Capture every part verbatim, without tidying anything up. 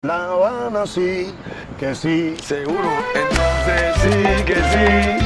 La Habana sí, que sí. Seguro, entonces sí, que sí.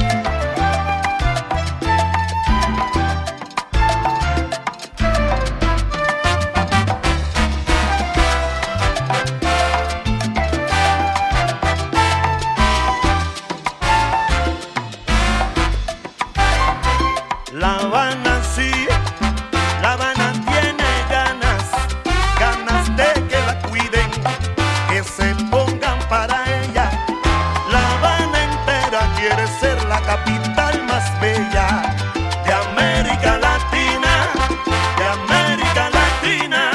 La Habana sí, La Habana tiene ganas, ganas de que la cuiden, que se pongan para ella. La Habana entera quiere ser la capital más bella de América Latina, de América Latina.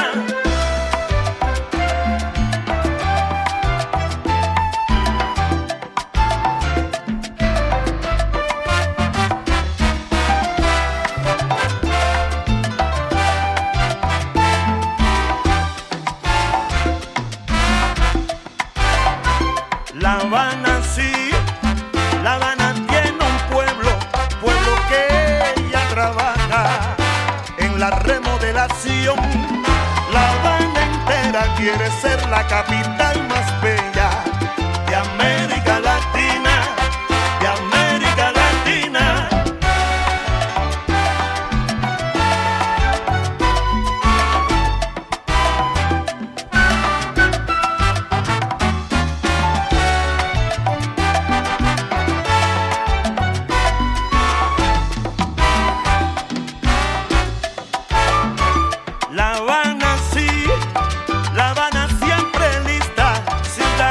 La Habana sí, La Habana tiene un pueblo, pueblo que ella trabaja en la remodelación. La Habana entera quiere ser la capital más bella de América Latina, de América Latina. La Habana sí, La Habana siempre lista, sin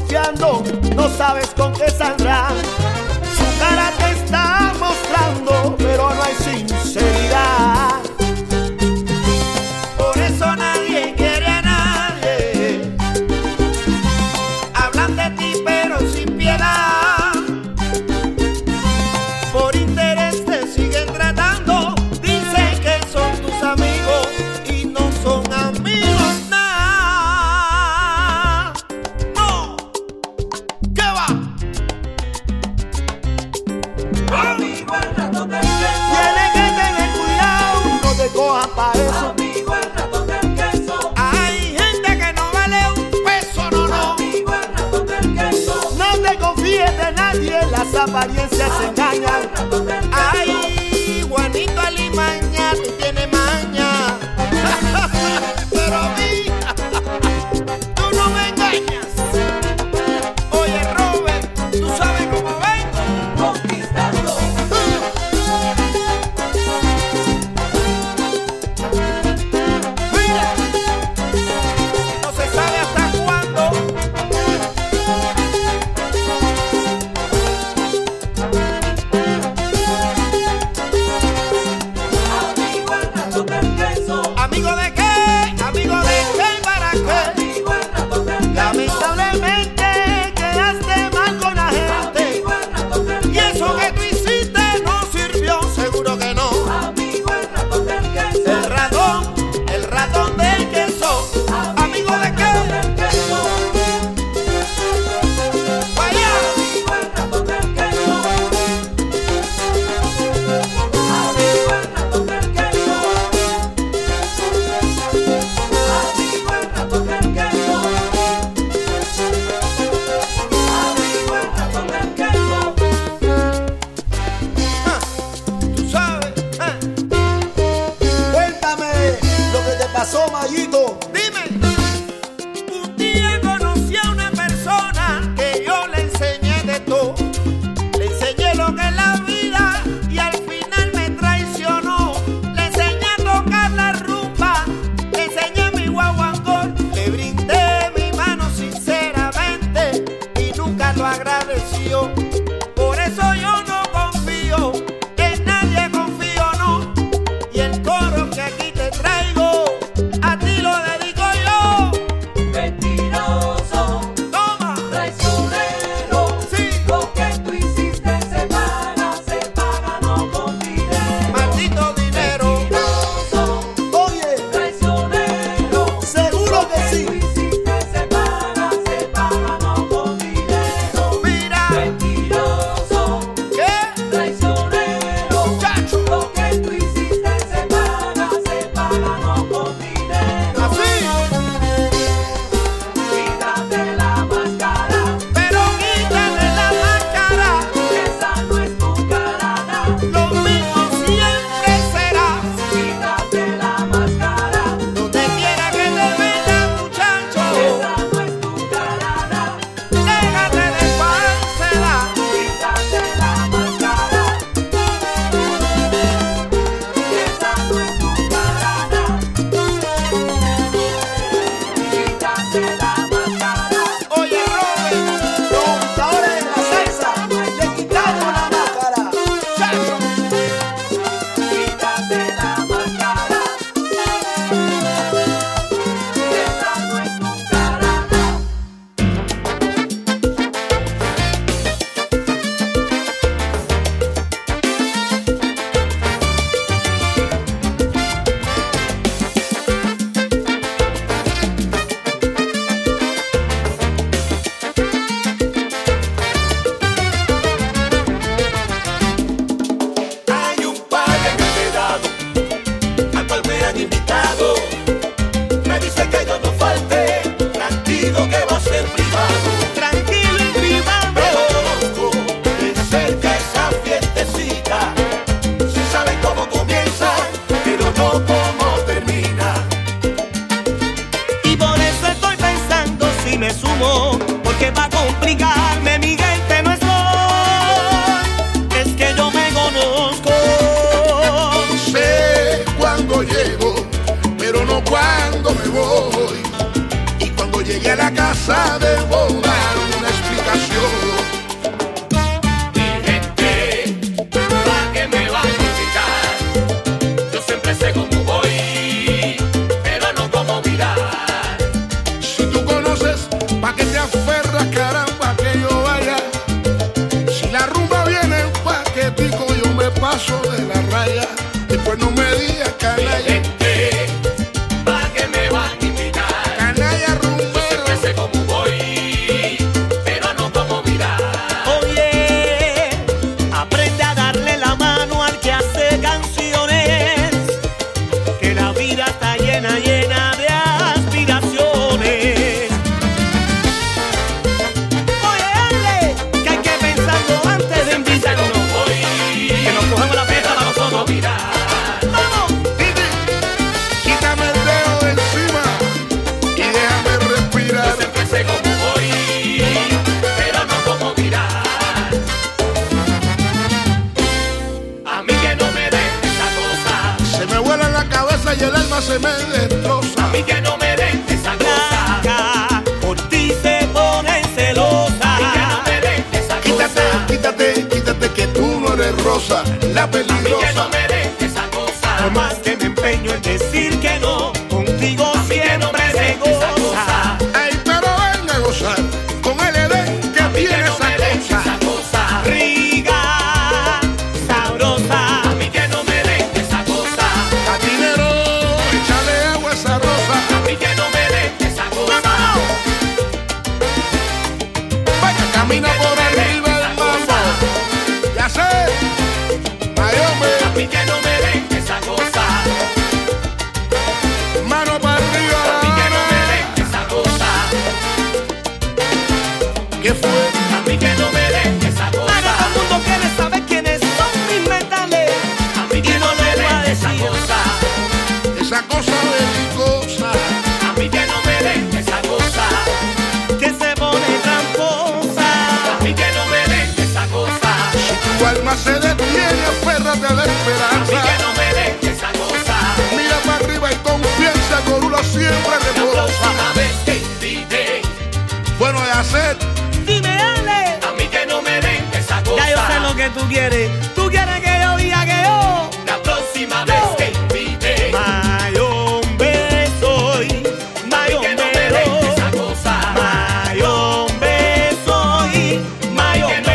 confiando, no sabes con qué saldrá. Su cara te está mostrando, pero no hay sinceridad. Por eso nadie quiere a nadie. Hablan de ti pero sin piedad. Por interés te siguen tratando. Dicen que son tus amigos y no son amigos nada. No, ¿qué va? Amigo el ratón del queso. Tienes que tener cuidado, no te cojas pa' eso. Amigo el ratón del queso. Hay gente que no vale un peso, no, no. Amigo el ratón del queso. No te confíes de nadie, las apariencias se engañan. Ay, Juanito Alimaña, tú tienes maña. Pero a mí, tú no me engañas. Oye, Robert, tú sabes cómo vengo. Conquistando. Mira, no se sabe hasta cuándo. Amigo el ratón del queso. ¿Amigo de qué? ¿Amigo de qué y para qué? Amigo el ratón del queso. Lamentablemente quedaste mal con la gente. Amigo el ratón del Y eso queso. que tú hiciste no sirvió, seguro que no. Amigo el ratón del queso. El ratón, el ratón del queso. ¿Amigo de qué? Del queso. Vaya. Amigo el ratón del queso. Amigo el ratón del queso. Amigo el ratón del queso. Amigo el ratón del queso. Ah, tú sabes. ah. Cuéntame lo que te pasó, Mayito. Dime. Un día conocí a una persona que yo le enseñé de todo. Le enseñé lo que es la vida y al final me traicionó. Le enseñé a tocar la rumba, le enseñé mi guaguancó, le brindé mi mano sinceramente y nunca lo agradeció. Por eso yo no confío, en nadie confío, no. Y el coro que aquí te traigo, a ti lo dedico yo. Mentiroso, Toma, traicionero. sí, Lo que tú hiciste se paga, se paga no con dinero. maldito dinero. Mentiroso, Oye, traicionero. seguro que Lo que sí. tú hiciste se paga, se paga no con dinero. Mira, Mentiroso, ¿qué? traicionero. Chacho, Lo que tú hiciste se paga, se paga no con dinero. así. Quítate la máscara, Pero quítale la máscara, que esa no es tu cara. lo mismo siempre serás. Quítate la máscara, Donde quiera que te veas, muchacho, esa no es tu cara. déjate de falsedad. Quítate la máscara, esa no es tu cara. Quítate la máscara, Oye, Robert, los gustadores de la salsa le quitaron la máscara. Chacho, quítate la máscara, esa no es tu cara. Hay un padre que me he dado, al cual me han invitado. Me dice que yo no falte, tranquilo que va a ser privado. tranquilo y privado. Pero conozco de cerca esa fiestecita. Se sabe cómo comienza, pero no cómo termina. Y por eso estoy pensando si me sumo, porque va a complicarme, mi gente no estoy. Es que yo me conozco. Sé cuándo llego, pero no cuándo me voy. Y cuando llegue a la casa debo dar una ocasión. Mi gente, ¿pa' qué me van a invitar? Yo siempre sé cómo voy, pero no cómo mirar. Si tú conoces, ¿pa' qué te aferras, caramba, que yo vaya? Si la rumba viene en paquetico, yo me paso de la raya. Después no me digas Mi canalla. gente, ¿pa' qué me van a invitar? Canalla Yo siempre rumbero. sé cómo voy, pero no cómo mirar. Oye, aprende a darle la mano al que hace canciones, que la vida está llena, llena de aspiraciones. Oye, dale, que hay que pensarlo antes de invitarnos, que nos cogemos la fiesta para nosotros. ¡Vamos! Titi, quítame el dedo de encima y déjame Yo respirar. siempre sé cómo voy, pero no cómo mirar. A mí que no me den esa cosa, Se me vuela en la cabeza y el alma se me destroza. a mí que no me den esa cosa, Acá, por ti se ponen celosas. a mí que no me den esa Quítate, cosa, quítate, quítate que tú no eres rosa, la a mí que no peligrosa. me den esa cosa. Por más que me empeño en decir que no, contigo A mí que no siempre me se den esa goza. cosa. Ay, pero venga a gozar con el Edén que A mí que tiene no esa me den cosa. esa cosa, Rica, sabrosa. a mí que no me den esa cosa, Catinero, échale agua a esa rosa. a mí que no me den esa cosa. Vaya, camina por arriba del mambo. Ya sé, Mayombe, A mí que no me den esa cosa, mano para arriba. a mí que no me den esa cosa, ¿Qué fue? a mí que no me den esa Ahora todo cosa, el mundo quiere saber quiénes son mis metales. a mí que Y no no me lo voy a den esa decir. cosa, Esa cosa belicosa. a mí que no me den esa cosa, Que se pone tramposa. a mí que no me den esa cosa, Si tu alma se detiene, aférrate a la a mí esperanza. que no me den esa cosa. Mira para arriba y confianza, Gorula siempre La reposa. próxima vez que inviten, Bueno de hacer, Dime, Ale. a mí que no me den esa cosa. Ya yo sé lo que tú quieres. Tú quieres que yo diga que yo. La próxima vez que inviten, Mayombe soy. a mí que no me Mayombe. den esa cosa. Mayombe soy. Mayombe.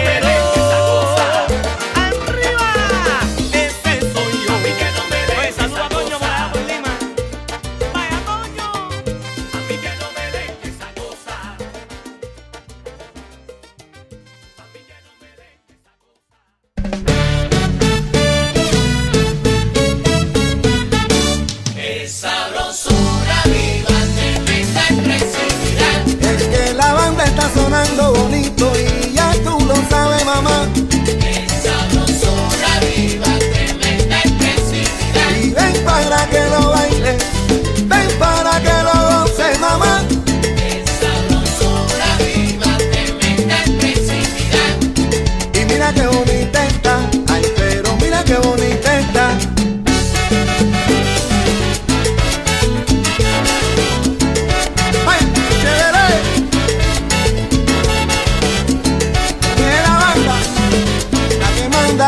Arriba. Ese soy yo. A mí que no me den Oye, saluda esa a Toño por cosa. allá por Lima. Vaya, Toño. A mí que no me den esa cosa. A mí que no me den esa cosa. Es sabrosura viva, tremenda expresividad. Es que la banda está sonando bonito y ya tú lo sabes, mamá. Es sabrosura viva, tremenda expresividad. Y ven para que lo baile, ven para que lo goces, mamá. Es sabrosura viva, tremenda expresividad. Y mira qué bonita está, ay, pero mira qué bonita está. Ay, chévere. Viene la banda, la que manda.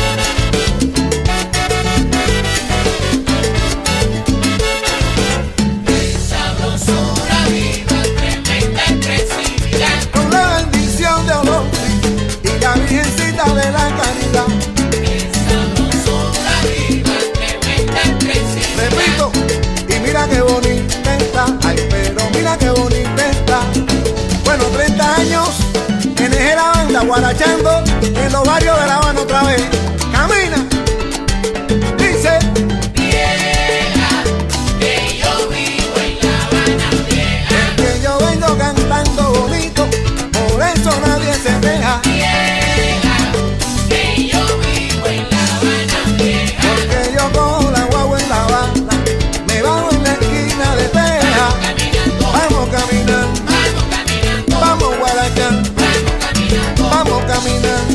Es sabrosura viva, tremenda expresividad. Con la bendición de Olor y la Virgencita de la Caridad. Es sabrosura viva, tremenda expresividad. Repito, y mira qué bonita está, ay, pero mira qué bonita está. Bueno, treinta años en eje la banda guarachando en los barrios de La Habana otra vez. Camina, dice, Vieja, que yo vivo en La Habana vieja. que yo vengo cantando bonito, por eso nadie se deja. Vieja, que yo vivo en La Habana vieja. Porque yo cojo la guagua en La Habana, me bajo en la esquina de Teja. Caminando, Vamos caminando, vamos caminando, vamos guarachando, vamos caminando. vamos caminando.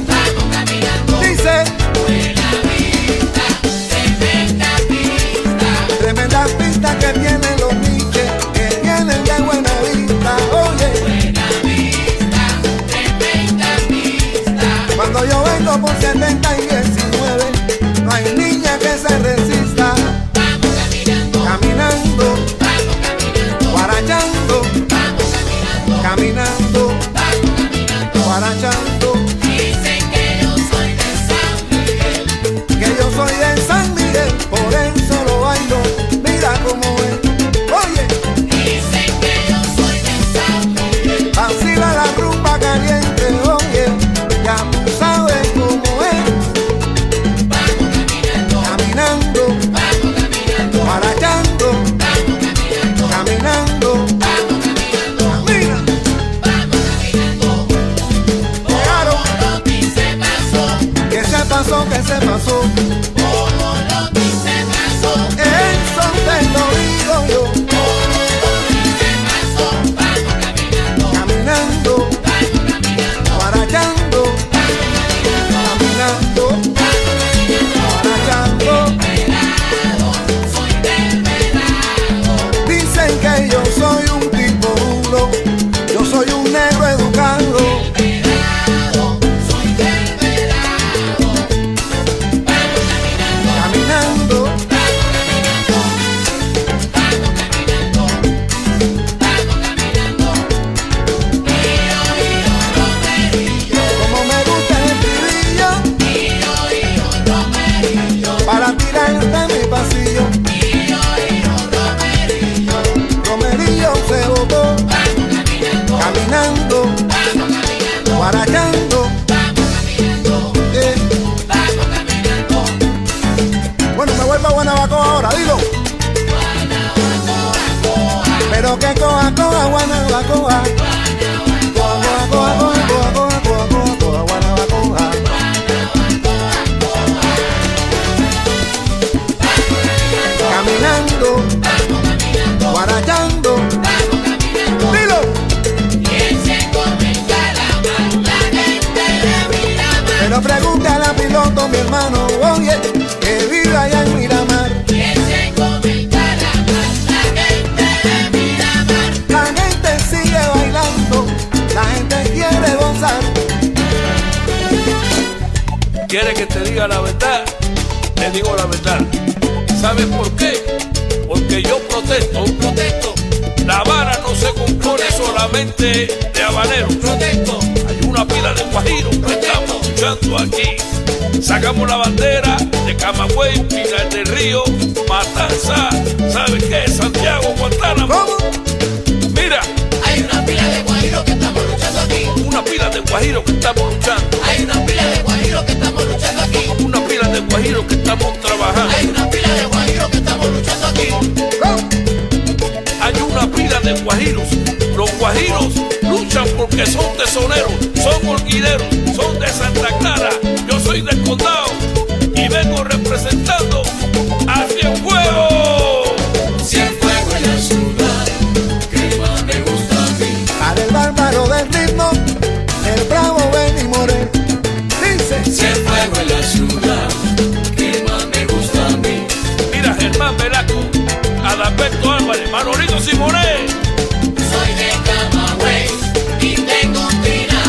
¿Quiere que te diga la verdad? Te digo la verdad. ¿Sabes por qué? Porque yo protesto, protesto. La Habana no se compone solamente de habaneros. Protesto. Hay una pila de guajiros que estamos luchando aquí. Sacamos la bandera de Camagüey, Pinar del Río, Matanza, ¿sabes qué? Santiago, Guantánamo. ¿Cómo? Mira, Hay una pila de guajiros que estamos luchando aquí. una pila de guajiros que estamos luchando. Hay una pila de guajiros que estamos luchando aquí. Una pila de guajiros que estamos trabajando. Hay una pila de guajiros que estamos luchando aquí. ¿Cómo? Hay una pila de guajiros. Los guajiros luchan porque son tesoneros, son orquideros, son de Santa Clara. Yo soy del condado y vengo representando a Cienfuegos. Cienfuegos en la ciudad, que más me gusta a mí. Para el bárbaro del ritmo, el bravo Benny Morel. Dice, Cienfuegos en la ciudad, que más me gusta a mí. Mira, Germán Velasco, Adalberto Álvarez, Manolito Simonet. Soy de Camagüey y tengo un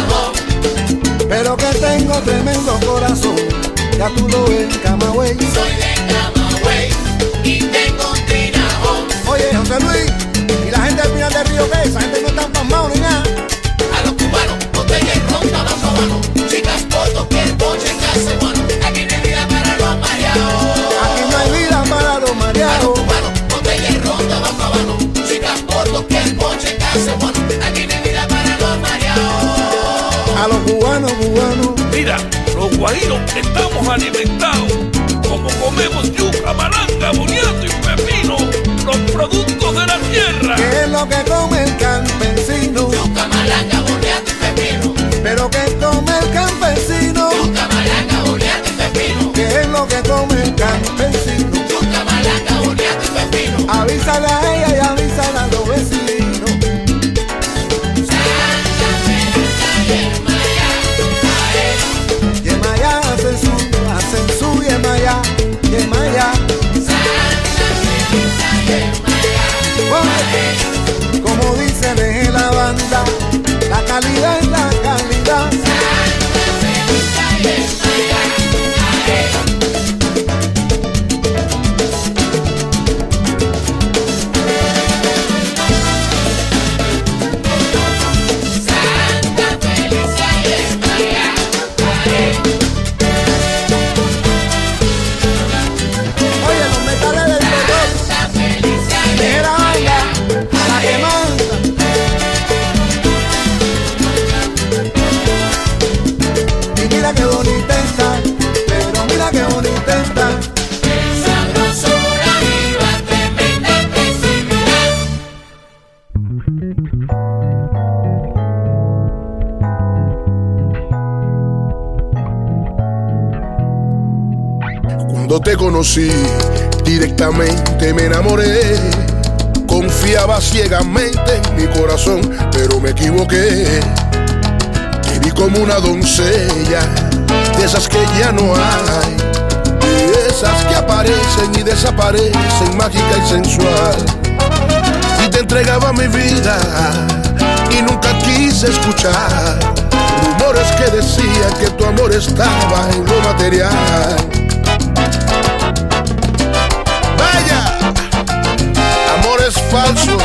tinajón. pero que tengo tremendo corazón. Ya tú lo ves, Camagüey. Soy de Camagüey y tengo un tinajón. Oye, José Luis, ¿y la gente del Pinar del Río qué? Esa gente no está pasmado ni nada. A los cubanos, botella y ron, tabaco habano. Chicas, fotos, que el boche case bueno. Aquí no hay vida para los mareados. Aquí no hay vida para los A los mareados. cubanos, botella y ron, tabaco habano. Chicas, fotos, que el boche case bueno. Aquí no hay vida para los mareados. A los cubanos, cubanos. Mira, los guajiros estamos alimentados. Como comemos yuca, malanga, boniato y pepino, los productos de la tierra. ¿Qué es lo que come el campesino? Yuca, malanga, boniato y pepino. Pero ¿qué come el campesino? Yuca, malanga, boniato y pepino. ¿Qué es lo que come el campesino? Yuca, malanga, boniato y pepino. Avísale a ella y avísale a los vecinos. Santa Teresa y Yemayá hacen su, hacen su Yemayá, Yemayá. Santa Teresa y Oye, como dice de la banda, la calidad es la calidad. Oye, los metales del terror, de la banda, la que manda. Y mira qué bonita está, pero mira qué bonita está. Sabrosura viva, tremenda flexibilidad. Cuando te conocí, directamente me enamoré. Confiaba ciegamente en mi corazón, pero me equivoqué. Te vi como una doncella, de esas que ya no hay, de esas que aparecen y desaparecen, mágica y sensual. Y te entregaba mi vida y nunca quise escuchar rumores que decían que tu amor estaba en lo material. Vaya, amores falsos.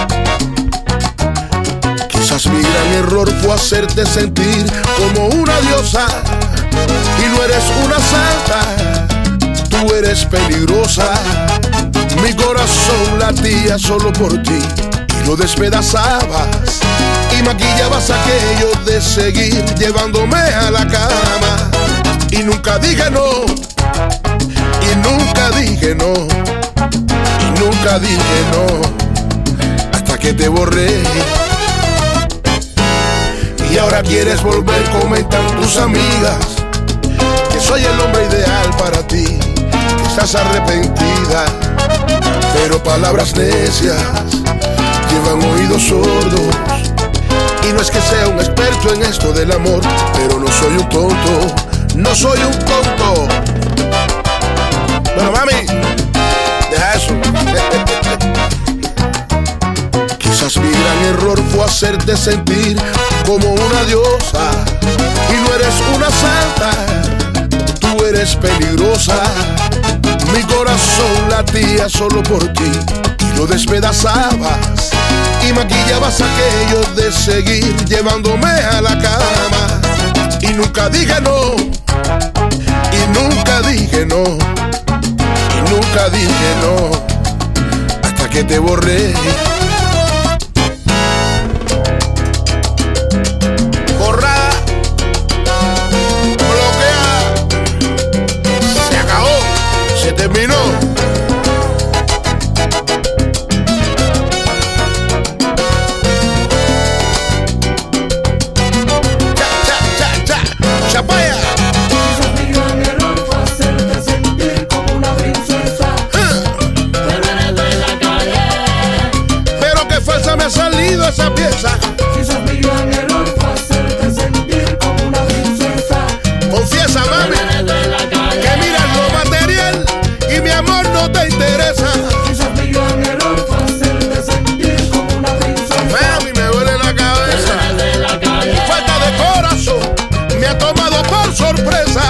Quizás mi gran error fue hacerte sentir como una diosa, y no eres una santa, tú eres peligrosa. Mi corazón latía solo por ti y lo despedazabas, y maquillabas aquello de seguir llevándome a la cama. Y nunca dije no, y nunca dije no, y nunca dije no, hasta que te borré. Y ahora quieres volver, comentan tus amigas que soy el hombre ideal para ti, que estás arrepentida, pero palabras necias llevan oídos sordos. Y no es que sea un experto en esto del amor, pero no soy un tonto, no soy un tonto. Bueno, mami, deja eso. Quizás mi gran error fue hacerte sentir como una diosa, y no eres una santa, tú eres peligrosa. Mi corazón latía solo por ti y lo despedazabas y maquillabas aquello de seguir llevándome a la cama. Y nunca dije no, y nunca dije no, y nunca dije no, hasta que te borré. Borrada, bloquea, se acabó, se terminó. Esa pieza. Si sos mi gran error fue hacerte sentir como una princesa. Confiesa, mami, que miras lo material y mi amor no te interesa. Si sos mi gran error fue hacerte sentir como una princesa. Mami, me duele la cabeza. Tu falta de corazón me ha tomado por sorpresa.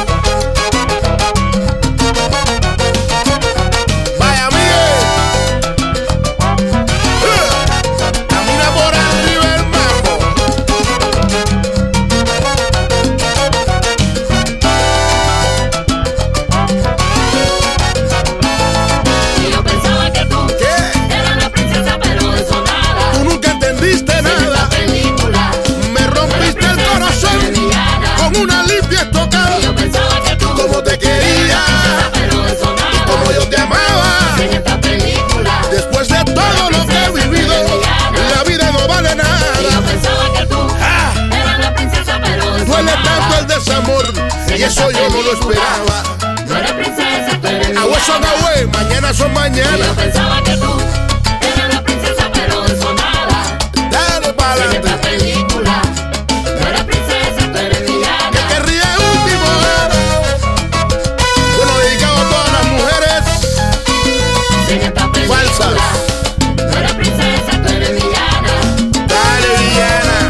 Una limpia estocada. Yo pensaba que tú, como te quería, pero de sonada, y como yo te amaba. en esta película, después de todo lo que he vivido, la vida no vale nada. yo pensaba que tú Ah, eras la princesa, pero de duele sonada. tanto el desamor y eso yo no lo esperaba. No eres princesa, tú eres A hueso villana. no güey, mañana son mañana. Yo pensaba que tú eras la princesa, pero de sonada. Dale para En adelante. esta película, no eres princesa, tú eres villana. Que te ríe último era. Bueno, dedicado a todas las mujeres En esta película, falsas. no eres princesa, tú eres villana. Dale, villana.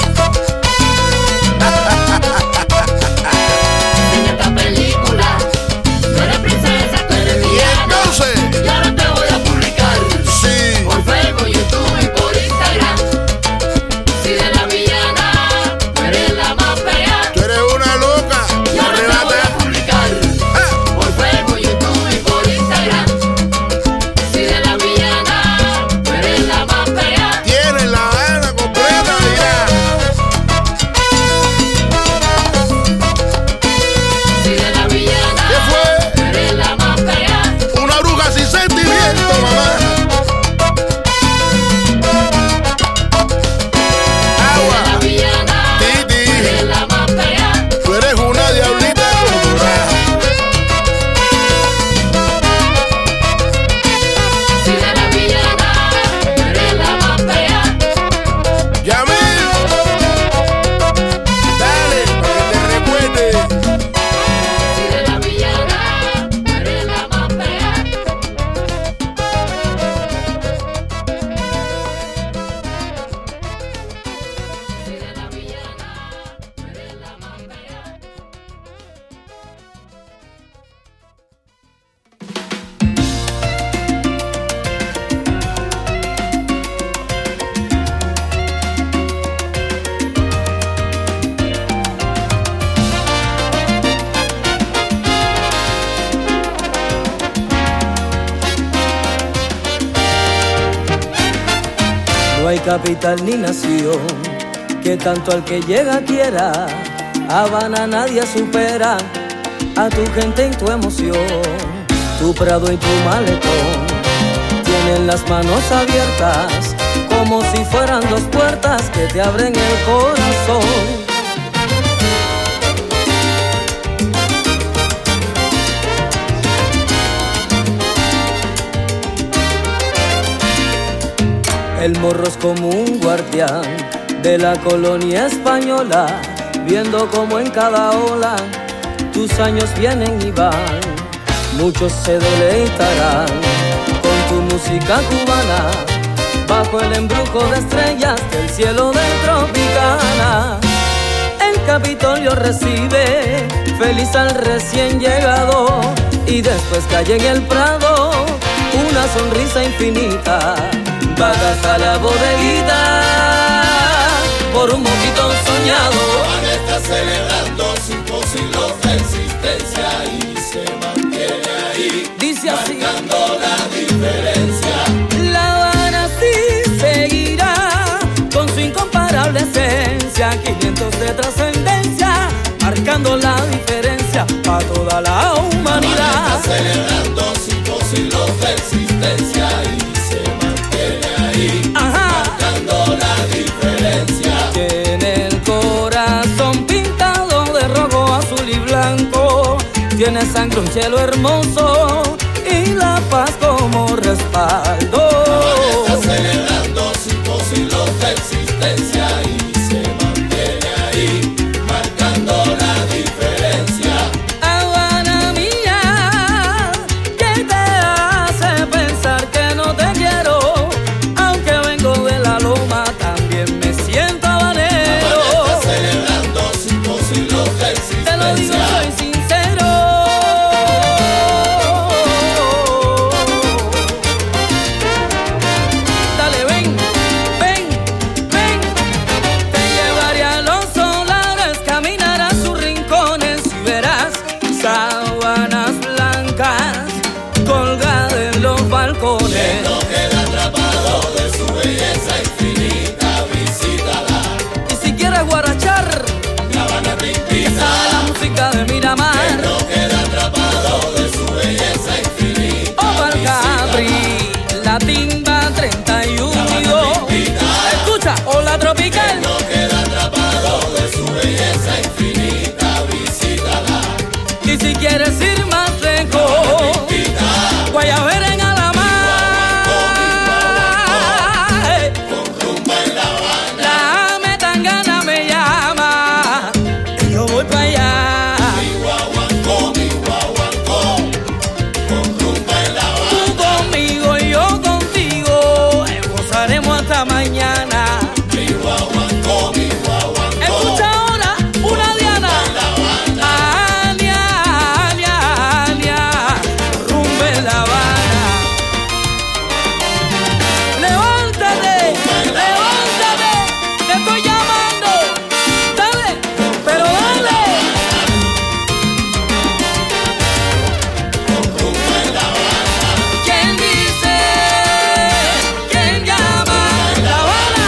En esta película, no eres princesa, tú eres Y villana. entonces, Y ahora te voy a publicar sí. por Facebook, YouTube y por Instagram. Si de la villana, tú eres la más fea. Tú eres una loca. Y ahora te voy Arrebata. a publicar Ah, por Facebook, YouTube y por Instagram. Si de la villana, tú eres la más fea. tienes la gana completa ya. Si de la villana, ¿Qué fue? tú eres la más fea. Una bruja sin sentimiento, mamá. La Agua, villana, Titi, tú eres la más fea. tú eres una diablita colorada. Si de la villana, tú eres la más fea. Yamil, dale, para que te recuerde. Si de la villana, tú eres la más fea. Si de la villana, tú eres la más fea. No hay capital ni nación que tanto al que llega quiera. Habana nadie supera a tu gente y tu emoción. Tu prado y tu malecón tienen las manos abiertas como si fueran dos puertas que te abren el corazón. El morro es como un guardián de la colonia española, viendo como en cada ola tus años vienen y van. Muchos se deleitarán con tu música cubana, bajo el embrujo de estrellas del cielo de Tropicana. El Capitolio recibe feliz al recién llegado, y después calle en el prado, una sonrisa infinita. Vagas a la bodeguita por un mojito soñado. Juan está celebrando cinco siglos de existencia y se mantiene ahí, Dice así, marcando la diferencia. La Habana sí seguirá con su incomparable esencia, quinientos de trascendencia, marcando la diferencia para toda la humanidad. Juan está celebrando cinco siglos de existencia y se mantiene ahí, Ajá. marcando la diferencia. Tiene el corazón pintado de rojo, azul y blanco, tiene sangre, un cielo hermoso y la paz como respaldo. Juan está celebrando cinco siglos de existencia y se mantiene ahí, marcando la diferencia. Habana mía, ¿qué te hace pensar que no te quiero? Aunque vengo de la loma, también me siento habanero. Juan está celebrando cinco siglos de existencia. Te lo digo, soy sincero. Dale, ven, ven, ven. Te llevaré a los solares, caminar a sus rincones y verás sábanas blancas colgadas en los balcones. No queda atrapado de su belleza infinita, visítala. Y si quieres guarachar, La Habana te que invita. sabe la música de Miramar. No queda atrapado de su belleza infinita. O pa'l Capri, la timba treinta y uno. Escucha, o la tropical. No queda atrapado de su belleza infinita, visítala. Y si quieres ir más lejos, Guayabera en Alamar. Con rumba en La Habana. La Metangana me llama y yo voy para allá. Mi guaguancó, mi guaguancó. Con rumba en La Habana. Tú conmigo y yo contigo, eh, gozaremos hasta mañana. Mi guaguancó, mi guaguancó. Escucha ahora una Diana. Alia, Alia, Alia, rumba en La Habana. Levántate, levántate, te estoy llamando. Dale, pero dale. ¿Quién dice? ¿Quién llama? La Habana.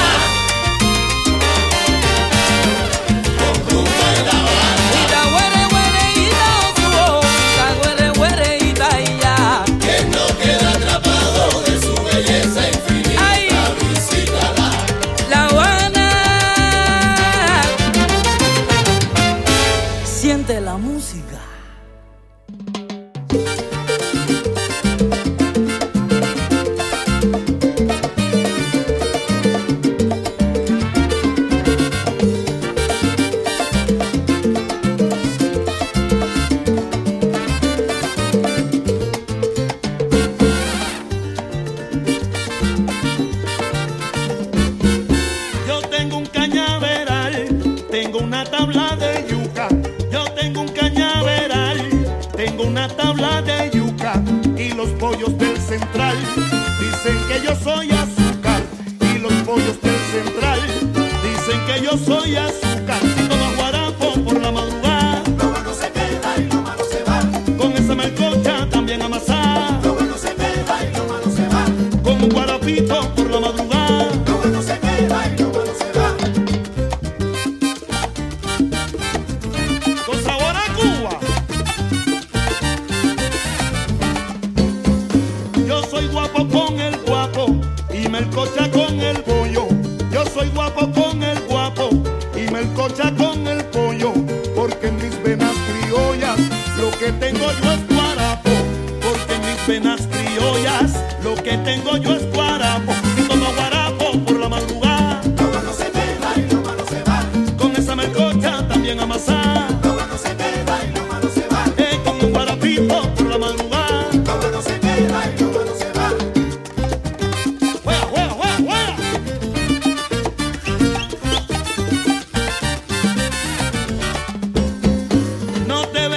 Ita güere güere ita osuo, ita güere güere ita ya. Que no queda atrapado de su belleza infinita, Ay. visítala. La Habana. Siente la música. Yo tengo un cañaveral, tengo una tabla de yuca. Yo tengo un cañaveral, tengo una tabla de yuca. Y los pollos del central dicen que yo soy azúcar. Y los pollos del central dicen que yo soy azúcar. Si tomo guarapo por la madrugada, Lo bueno se queda y lo malo se va. con esa melcocha también amasada. Lo bueno se queda y lo malo se va. Con un guarapito por la madrugada. Lo bueno se queda y lo malo se va. Con sabor a Cuba. Yo soy guapo con el guapo y melcocha con el pollo. Yo soy guapo con el guapo y melcocha con el pollo. Porque en mis venas criollas lo que tengo yo es guarapo. Porque en mis venas criollas lo que tengo yo es guarapo. Si tomo guarapo por la madrugada, Lo bueno se queda y lo malo se va. con esa melcocha también amasada. Lo bueno se queda y lo malo se va. Eh, con un guarapito por la madrugada. Lo bueno se queda y lo malo se va. ¡Juega, juega, juega, juega! No te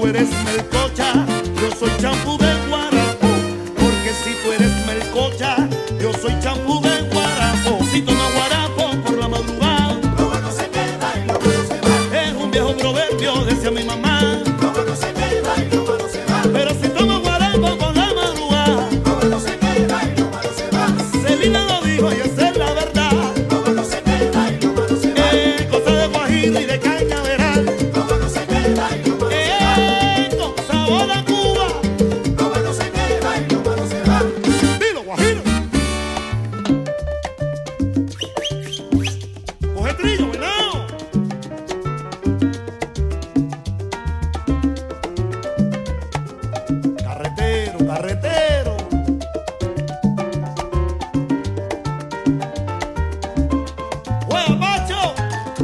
tú eres melcocha, yo soy champú de guarapo. Porque si tú eres melcocha, yo soy champú de guarapo. Si tomas guarapo por la madrugada, lo bueno se queda y lo malo se va. es un viejo proverbio, decía mi mamá. Lo bueno se queda y lo malo se va. Pero si tomas guarapo por la madrugada, lo bueno se queda y lo malo se va. Celina lo dijo y esa es la verdad. Lo bueno se queda y lo malo se va. Eh, cosa de guajiro y de cañaveral. Lo bueno se queda y lo malo se va. Eh, con sabor a Cuba. Lo bueno se queda y lo malo se va. Dilo, guajiro. Coge trillo, venado. Carretero, carretero. ¡Juega, Pacho!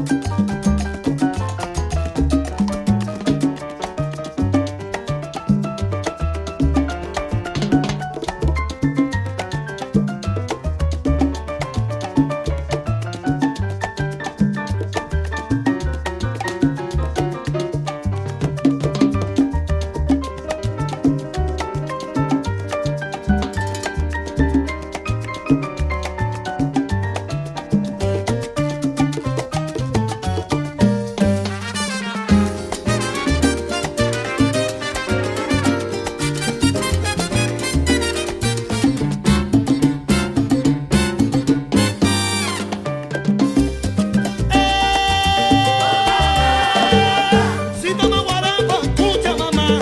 Si toma guarapo, escucha mamá.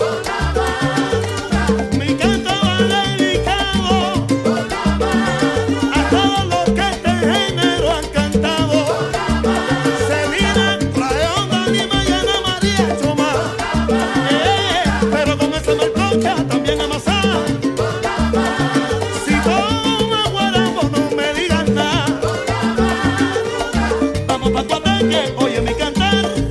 Mi canto va dedicado a todos los que este género han cantado. Celina, Rayon, Lima y Ana María Choma. Eh, pero con esa melcocha también amasada. Si toma guarapo, no me digas nada. Vamos pa' Coateque, oye mi cantar.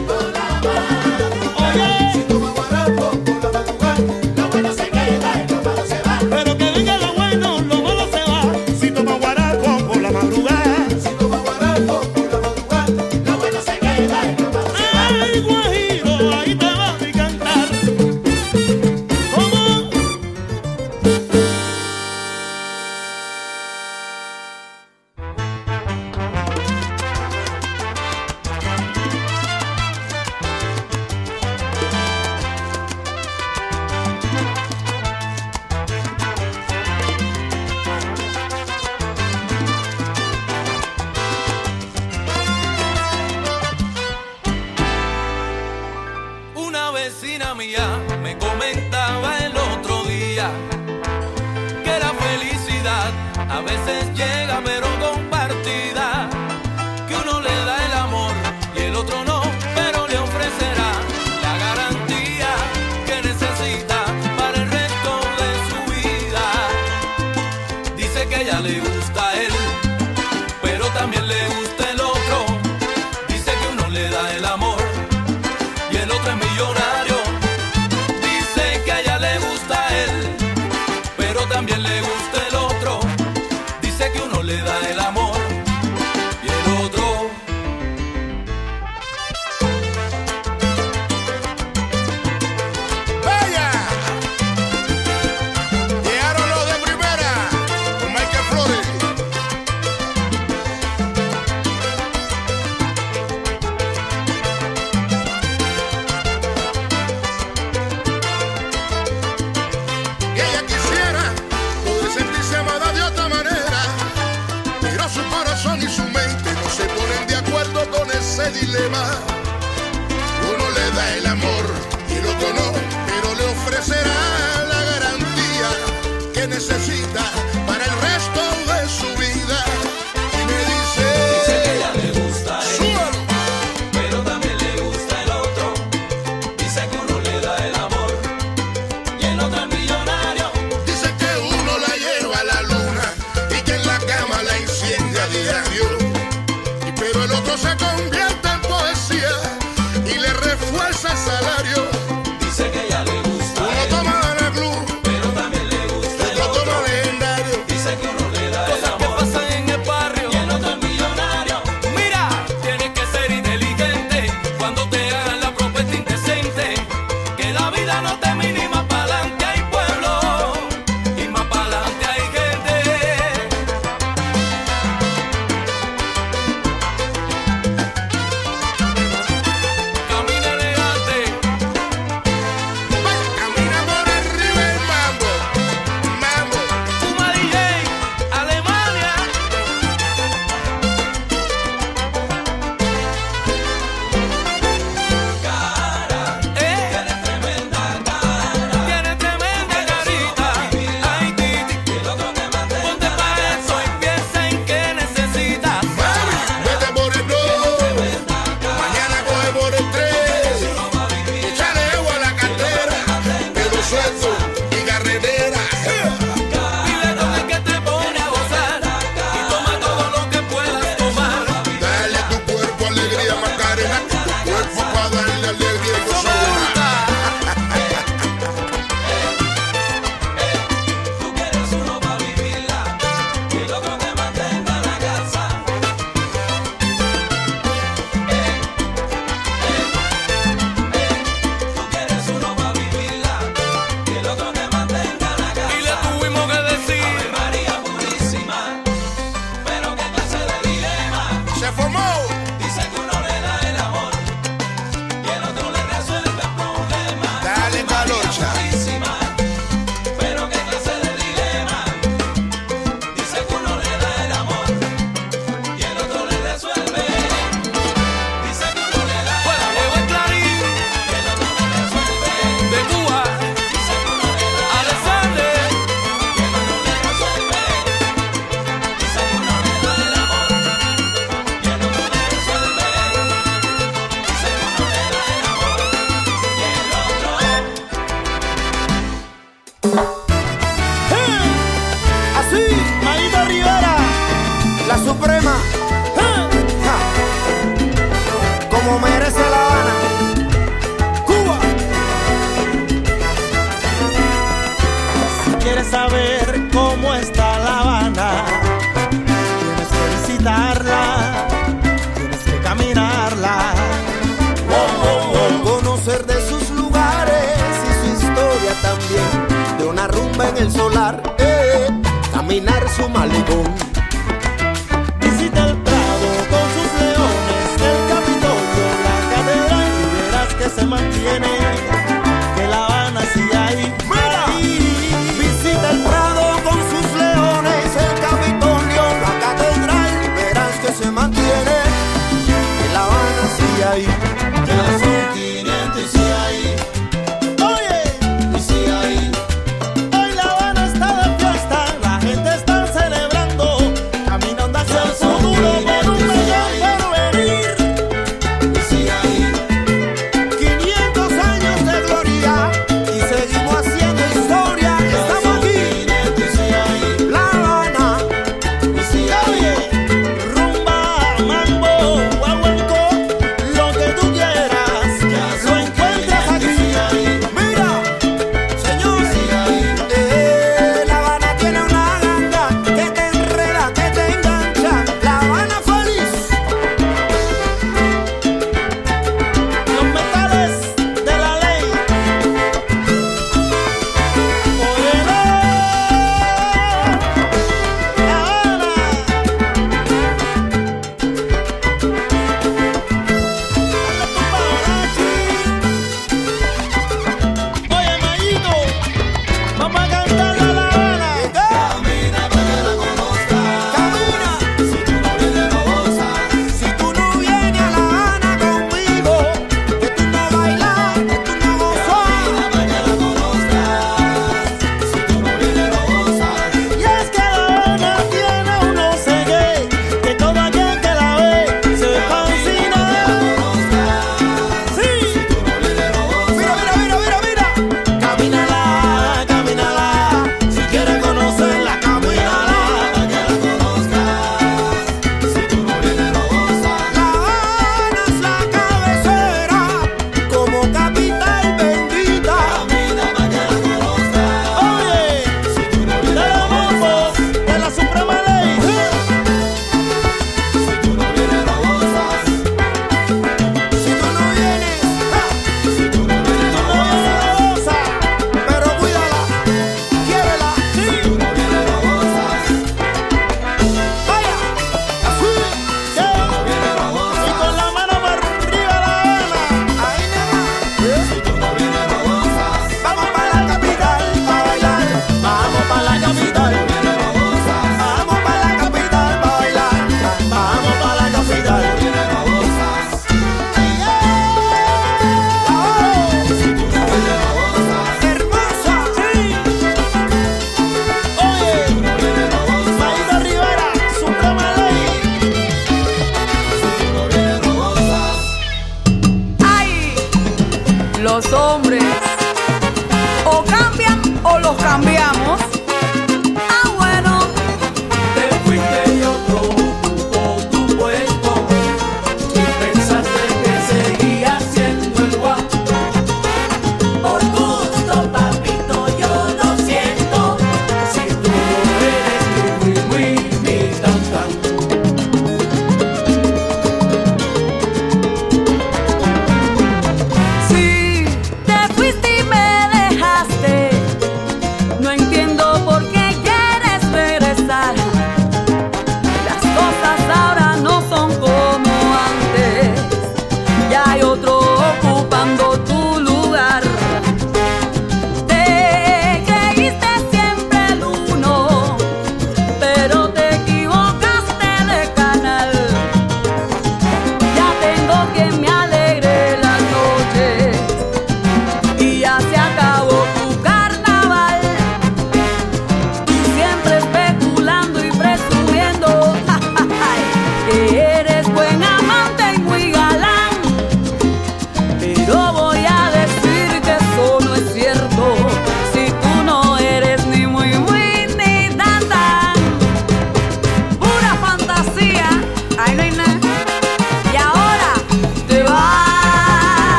Oye, Toma guarapo por la madrugada. Lo bueno se queda y lo malo se va. pero que venga lo bueno, lo malo se va. Si toma guarapo por la madrugada. Si toma guarapo por la madrugada. Lo bueno se queda y lo malo se va. Ay, guajiro, ahí te va mi cantar. ¿Cómo? Una vecina mía me comentaba el otro día que la felicidad a veces llega pero compartida, que uno le da el amor y el otro no, pero le ofrecerá la garantía que necesita para el resto de su vida. Dice que a ella le gusta a él, pero también le gusta el otro. Dice que uno le da el amor y el otro es millonario. Dice que a ella le gusta a él, pero también le gusta el otro. Dice que uno le da el amor y el otro. ¡Vaya! Llegaron los de primera con Michael Flores. Y ella quisiera poder sentirse amada de otra manera, pero su corazón y su mente no se ponen de acuerdo con ese dilema. Uno le da el amor y el otro no, pero le ofrecerá la garantía que necesita para el resto de su vida. Y me dice, Dice que a ella le gusta a él, súbalo. pero también le gusta el otro. Dice que uno le da el amor y el otro es millonario. Dice que uno la lleva a la luna y que en la cama la enciende a diario. Y pero el otro se convierte en poesía En el solar, eh, caminar su malecón. Visita el Prado con sus leones, el Capitolio, la catedral, y verás que se mantiene, que La Habana sigue ahí. Mira, visita el Prado con sus leones, el Capitolio, la catedral, y verás que se mantiene, que La Habana sigue ahí. Ya son quinientos y sigue ahí. Oye, y sigue ahí. Hoy La Habana está de fiesta, la gente está celebrando.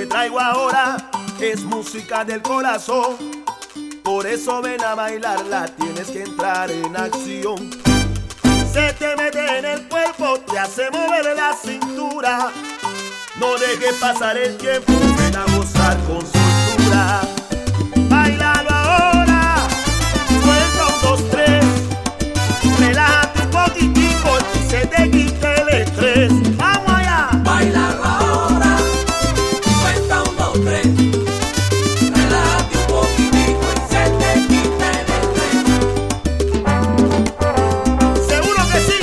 traigo ahora es música del corazón. Por eso ven a bailarla, tienes que entrar en acción. Se te mete en el cuerpo, te hace mover la cintura. No dejes pasar el tiempo, ven a gozar con soltura. Bailalo ahora, cuenta un, dos, tres. Relájate un poquitico y se te quite el estrés. ¡Vamos allá! Bailalo ahora, cuenta un, dos, tres. Relájate un poquitico y se te quite el estrés. ¡Seguro que sí!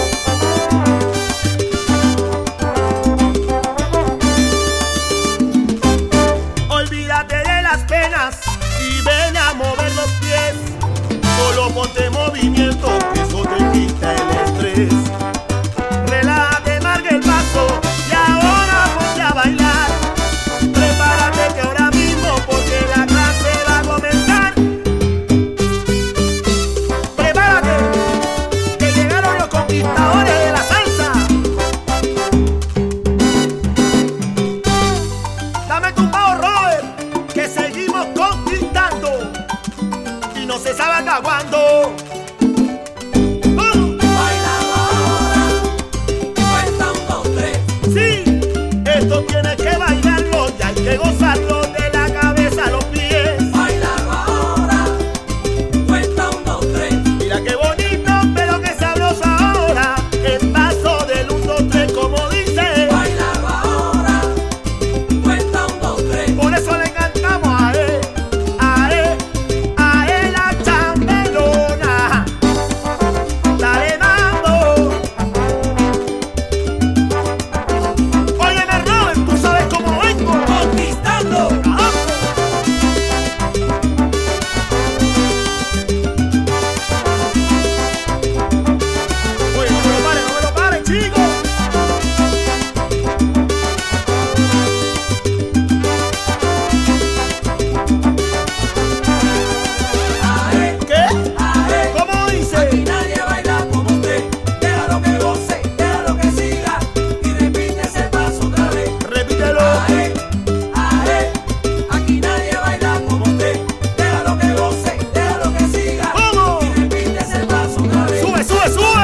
Olvídate de las penas y ven a mover los pies. Solo ponte en movimiento, que eso te quita el estrés. Relájate, marca el paso y ahora ponte a bailar. Prepárate que ahora mismo porque la clase va a comenzar. Prepárate, que llegaron los conquistadores de la salsa. Dame tu pavo, Robert, que seguimos conquistando y no se sabe hasta cuándo. Bailalo ahora, cuenta un, dos, tres. Sí, esto tienes que bailarlo y hay que gozarlo de la cabeza a los pies. Bailalo ahora, cuenta un, dos, tres. Mira qué bonito, pero qué sabroso ahora. El paso del un, dos, tres, como dice. Bailalo ahora, cuenta un, dos, tres. Por eso le cantamos a él, a él, a él la chambelona. Dale mambo. Óyeme, Robert, tú sabes cómo vengo. Conquistando. ¡Vamos! Oye, no me lo paren, no me lo paren, chicos. Ae, ¿Qué? ae. ¿Cómo Aquí dice? nadie baila como usted. Déjalo que goce, déjalo que siga y repite ese paso otra vez. Repítelo. Ae, ae. Aquí nadie baila como usted. Déjalo que goce, déjalo que siga ¿Cómo? y repite ese paso otra vez. Sube, sube, sube.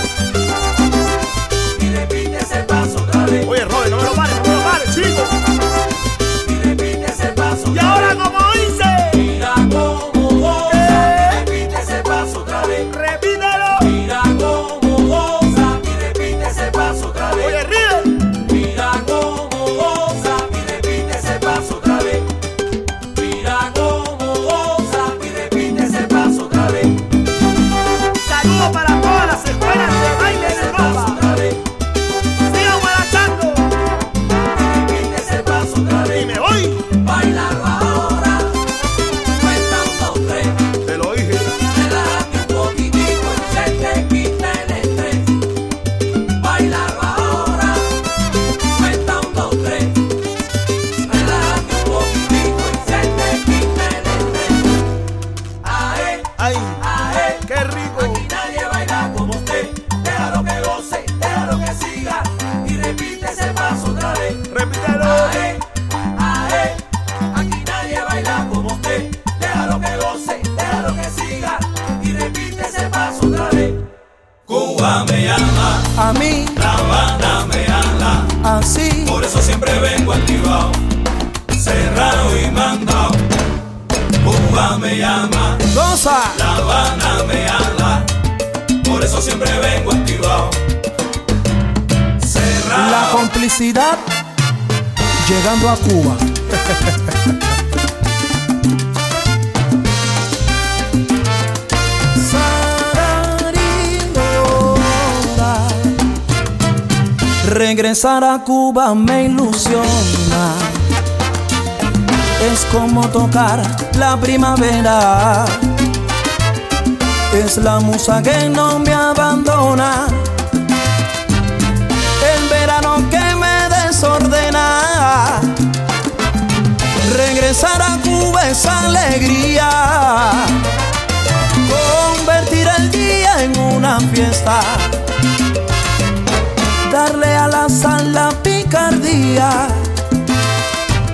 Y repite ese paso otra vez. Oye, Robert, no me lo pares, no me lo pares, chicos. Y repite ese paso Y otra ahora, vez. ¿cómo dice? Mira cómo goza, ¿Qué? y repite ese paso otra vez. Repítelo. Mira cómo goza y repite ese paso otra vez. Oye, ríe. Mira cómo goza y repite ese paso otra vez. Mira cómo goza y repite ese paso otra vez. Saludos para todas las escuelas de baile de Ese paso Europa. otra vez. Sigan guarachando. Y repite ese paso otra Y vez. me voy. Bailalo ahora. Cuenta un, dos, tres. Te lo dije. Relájate un poquitico y se te quita el estrés. Bailalo ahora. Cuenta un, dos, tres. Relájate un poquitico y se te quita el estrés. Ae, Ay, ae. qué rico. Aquí nadie baila como usted. Déjalo que goce, déjalo que siga y repite ese paso otra vez. Repítelo. Ae, ae. Aquí nadie baila como usted. Déjalo que goce, déjalo que siga y repite ese paso otra vez. Cuba me llama, A mí, La Habana me habla, así, por eso siempre vengo activado, cerrado y mandado. Cuba me llama, goza. La Habana me habla, por eso siempre vengo activado, cerrado. La complicidad llegando a Cuba. Sararindora. Regresar a Cuba me ilusiona. Es como tocar la primavera. Es la musa que no me abandona. El verano que me desordena. Regresar a Cuba es alegría. Convertir el día en una fiesta. Darle a la sal la picardía.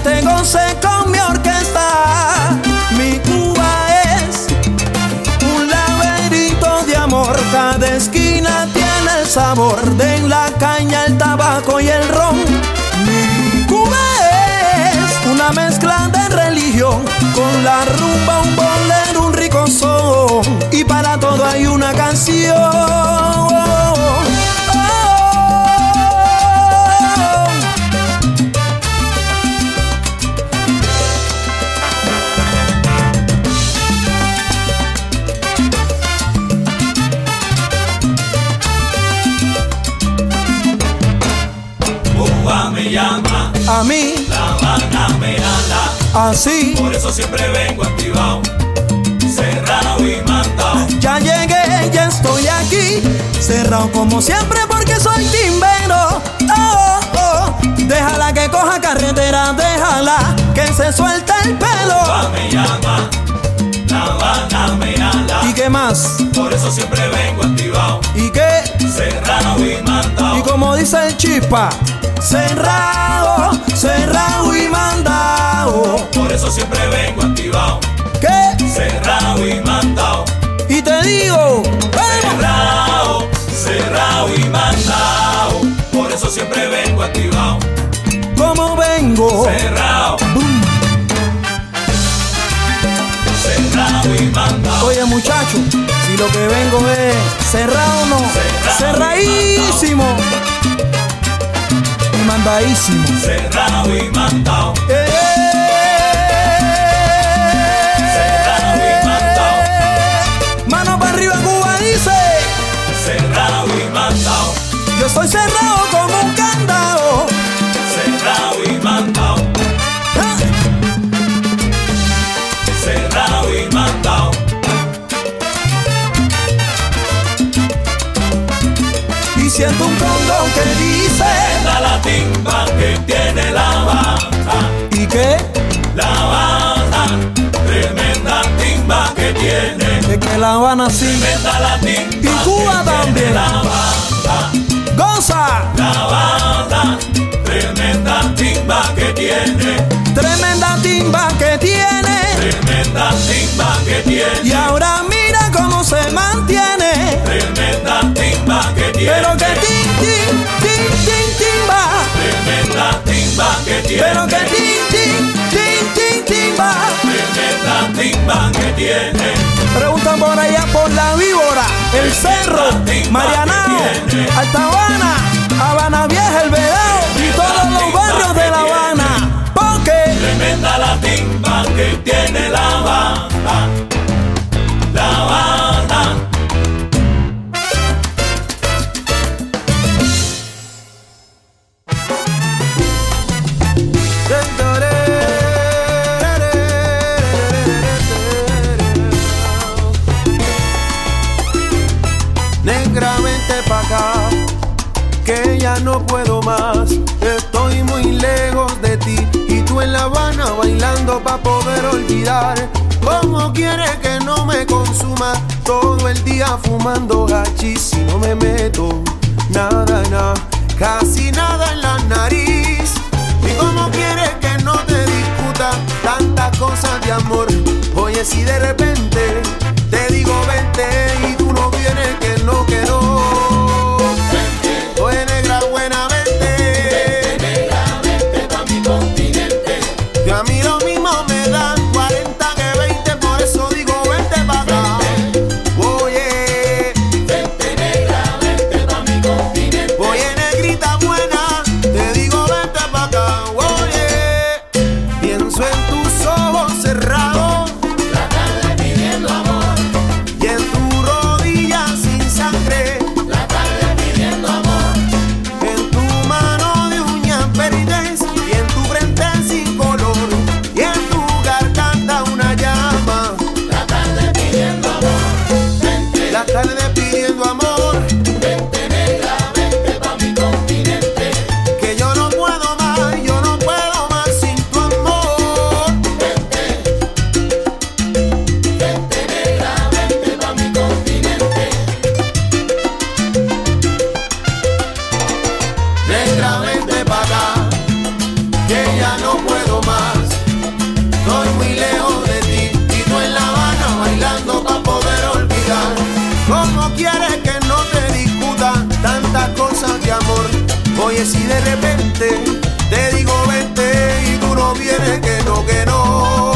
gente goce con mi orquesta. Mi Cuba es un laberinto de amor. Cada esquina tiene el sabor de la caña, el tabaco y el ron. Mi Cuba es una mezcla de religión con la rumba, un bolero, un rico son. Y para todo hay una canción. Me llama, a mí La Habana me ala, así. por eso siempre vengo activado, cerrado y mandado. Ya llegué, ya estoy aquí, cerrado como siempre porque soy timbero. Oh, oh, déjala que coja carretera, déjala que se suelte el pelo. Cuba me llama, La Habana me ala, ¿Y qué más? por eso siempre vengo activado, ¿Y qué? cerrado y mandado. Y como dice el Chispa, cerrado, cerrado y mandado. Por eso siempre vengo activado, ¿Qué? cerrado y mandado. Y te digo, cerrado, cerrado y mandado. Por eso siempre vengo activado, ¿cómo vengo? cerrado, Boom. cerrado y mandado. Oye muchacho, si lo que vengo es cerrado no, Cerrado y cerradísimo y mandadísimo. Cerrado y mandado. Eh, Cerrado y mandado. Mano para arriba Cuba dice, Cerrado y mandado. yo estoy cerrado como un candado. Cerrado y mandado. Ah, Cerrado y mandado. Y siento un condón que dice, Esta la timba que tiene La Habana. ¿y qué? La Habana, tremenda timba que tiene. Es que La Habana sí, Tremenda la timba y Cuba que también. tiene La Habana. Goza, La Habana, tremenda timba que tiene. tremenda timba que tiene. Tremenda timba que tiene. Y ahora mira cómo se mantiene. Tremenda timba que tiene. Pero que tin, tin, tin, tin, timba. Tremenda timba que tiene. Pero que tin, tin, tin, tin, timba. Tremenda timba que tiene. Preguntan por allá por La Víbora, El Cerro, Marianao, Alta Habana, Habana Vieja, El Vedao y todos los barrios de La Habana. Porque Tremenda la timba que tiene La Habana. La Habana. negra, vente pa' acá, que ya no puedo más. Estoy muy lejos de ti y tú en La Habana bailando pa' poder olvidar. ¿Cómo quieres que no me consuma todo el día fumando hachís si no me meto nada, nada, casi nada en la nariz? ¿Y cómo quieres que no te discuta tantas cosas de amor? Oye, si de repente te digo vente y tú no vienes, que no, que no. Vente. Oye, negra, buena, vente. Vente, negra, vente pa' mi continente. Que a mí lo mismo me dan cuarenta que veinte, por eso digo vente pa' acá. Oye, vente, negra, vente pa' mi continente. Oye, negrita buena, te digo vente pa' acá. Oye, pienso en tus ojos cerrados, la tarde pidiendo amor, y en tu rodilla sin sangre, la tarde pidiendo amor, en tu mano de uñas verdes y en tu frente sin color y en tu garganta Oye, si de repente te digo vente y tú no vienes, que no, que no.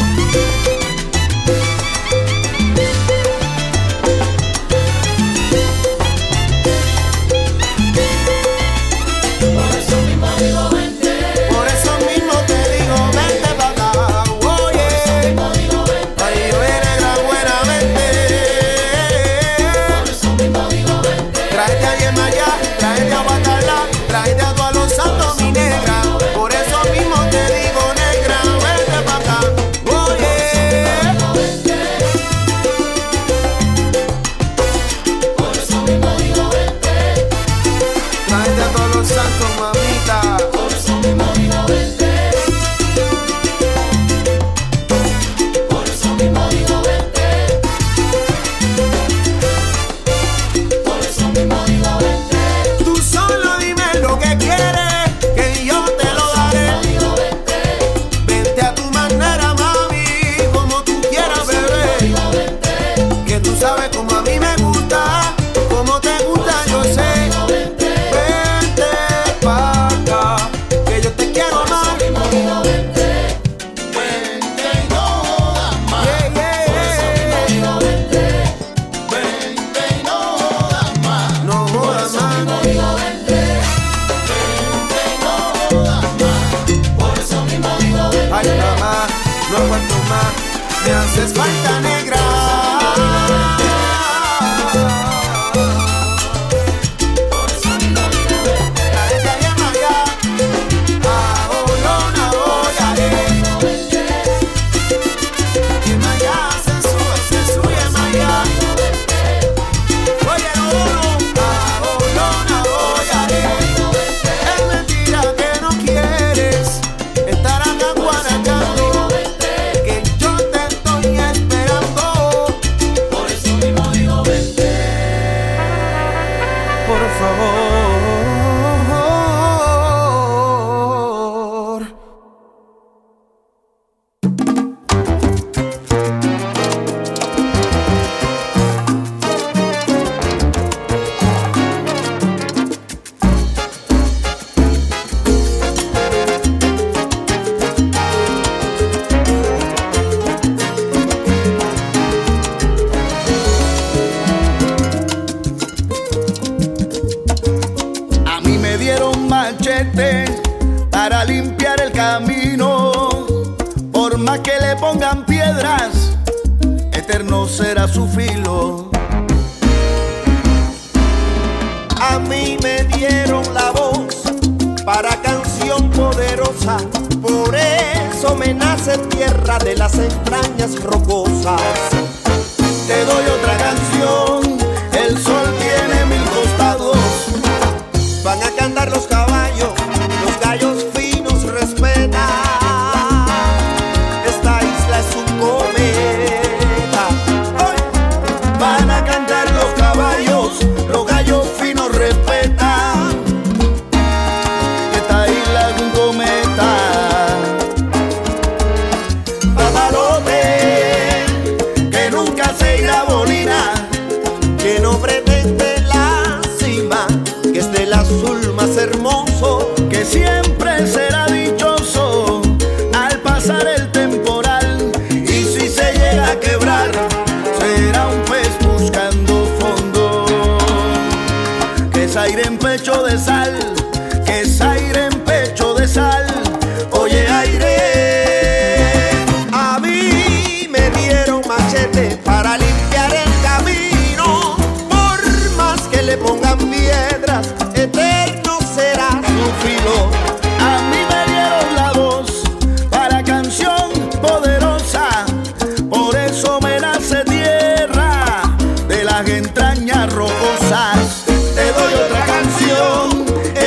Por eso mismo digo vente. Por eso mismo te digo vente pa' acá. Oye, ay, viene gran buena vente. Por eso mismo digo vente. Tráete a Yemayá, tráete a Guatalá, tráete a todos los santos, mi negra. Por eso mismo te digo negra, vente pa' acá. Oye, Por eso mismo digo vente. tráete a todos los santos, mamita. Por eso mismo digo vente. Por eso mismo digo vente. Por eso mismo digo vente. Tú solo dime lo que quieres, que yo te lo daré. Digo vente. Vente a tu manera, mami, como tú quieras, bebé. Digo vente. Que tú sabes como a mí me gusta, como te gusta, yo sé. Vente pa' acá, que yo te quiero más. Mismo digo vente. Vente y no jodas más. Yeah, yeah, yeah. Digo vente. Vente y no jodas más. No jodas más. Digo vente. Vente y no jodas más. Por eso mismo digo vente. Ay, mamá, no aguanto más, me haces falta negra. Tráete a Yemayá, a Olona, Oyaré. Yemayá, se sube, se sube Yemayá. Oye, Olono, a Olona, Oyaré. Es mentira que no quieres estar acá guarachando, que yo te estoy esperando. Por eso mismo digo vente. Por favor. A mí me dieron machete para limpiar el camino. Por más que le pongan piedras, eterno será su filo. A mí me dieron la voz para canción poderosa, por eso me nace tierra de las entrañas rocosas. Te doy otra canción, el sol tiene mil costados. Van a cantar los caballos, los gallos finos respetan. Esta isla es un cometa. ¡Ay! Van a cantar los caballos, los gallos finos respetan. Esta isla es un cometa. Papalote, que nunca se irá bolina, que no pretende la cima, que es del azul más hermoso. Que siempre será dichoso al pasar el temporal. Y si se llega a quebrar, será un pez buscando fondo. Que es aire en pecho de sal, que es aire en pecho de sal. Oye, aire. A mí me dieron machete para limpiar el camino, por más que le pongan piedras, eterno será su filo. A mí me dieron la voz para canción poderosa, por eso me nace tierra de las entrañas rocosas. Te doy otra canción,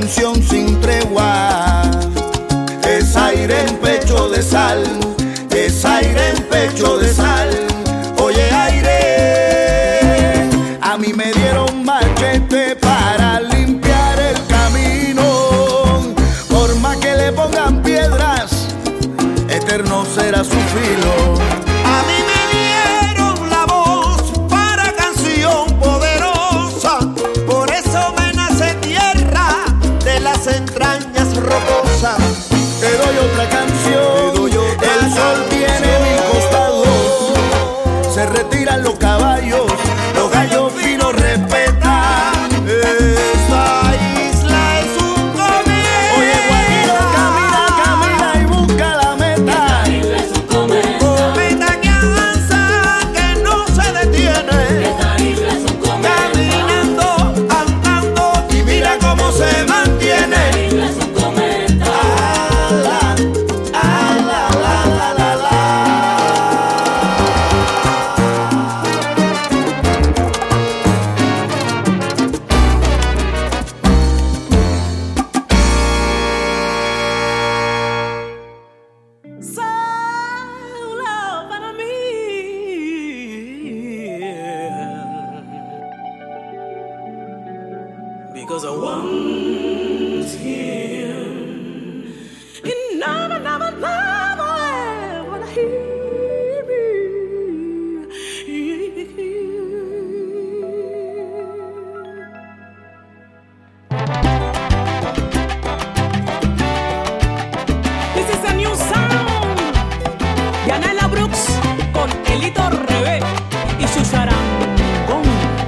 canción sin tregua. Es aire en pecho de sal, es aire en pecho de sal. Oye aire, a mí me dieron machete para limpiar el camino. Por más que le pongan piedras, eterno será su filo. A mí me dieron la voz para canción poderosa, por eso me nace tierra de las entrañas rocosas. Te doy otra canción, doy otra el sol canción. Tiene mil costados, se retiran los caballos, los gallos finos respetan. Esta isla es un cometa. Oye Guajiro, camina, camina y busca la meta. Esta isla es un cometa. Cometa que avanza, que no se detiene. Esta isla es un cometa. Caminando, andando y mira cómo se mantiene. Esta isla es un cometa. Ah, ah, la, la, la, la, la. Solo para mí. Because I want him. He never, never, never ever hear me. This is a new sound. Yanela Brooks con Elito Rebe y su charangón.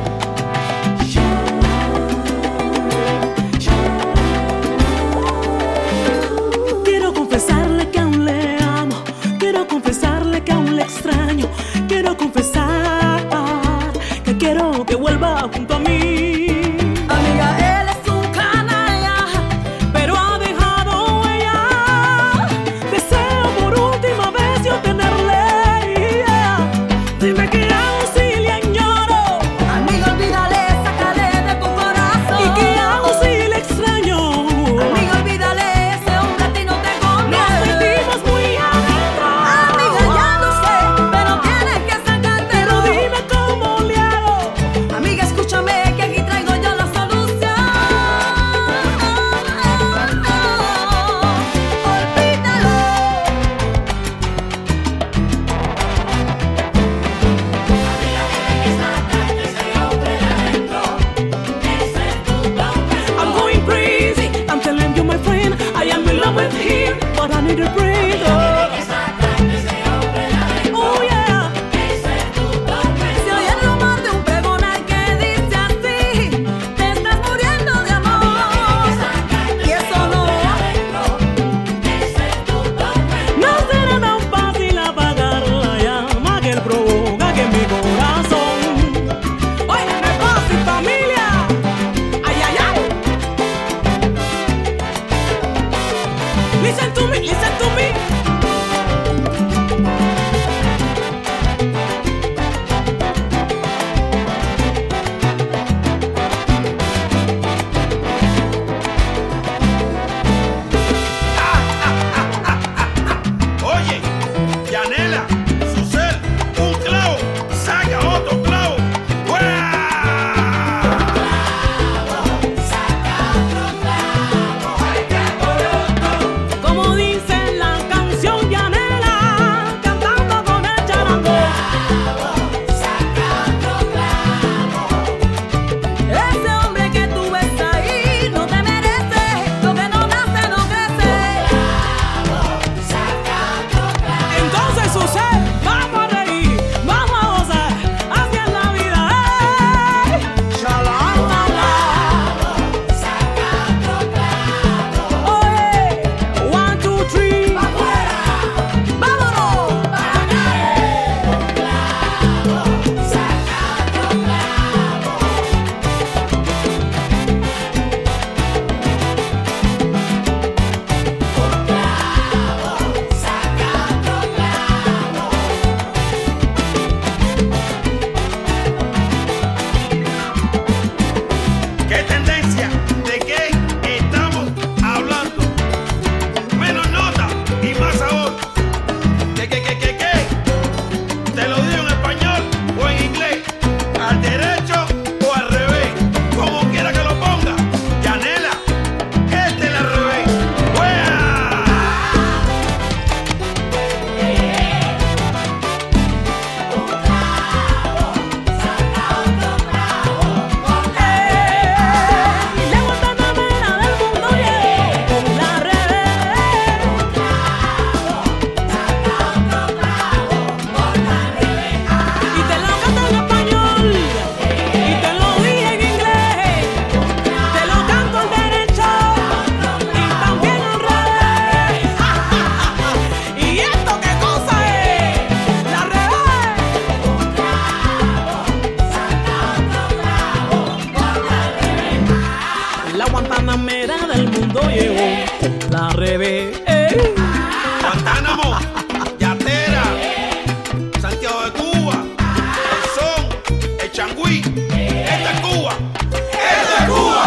Quiero confesarle que aún le amo, quiero confesarle que aún le extraño, quiero confesar que quiero que vuelva junto a mí. Amiga, él es un canalla, pero ha dejado huella. Deseo por última vez yo tenerle. Dime que aún sí le añoro. Amigo, olvídale, sácale de tu corazón. Y que aún sí le extraño. Amigo, olvídale, ese hombre a ti no te conviene. Nos sentimos muy adentro. Amiga, ya lo sé, pero tienes que sacarte. Pero dime cómo le hago. Amiga, escúchame que aquí en español o en inglés, al derecho o al revés, como quiera que lo ponga. Yanela, este es al revés. ¡Wea! La guantanamera del mundo llegó, la revés. Y te lo canto en español, y te lo dije en inglés, te lo canto al derecho y también al revés. ¿Y esto qué cosa es? La revés. La guantanamera del mundo llegó, la revés. Guantánamo, Yatera, Santiago de Cuba, el son, el changüí, esta es Cuba, esta es Cuba.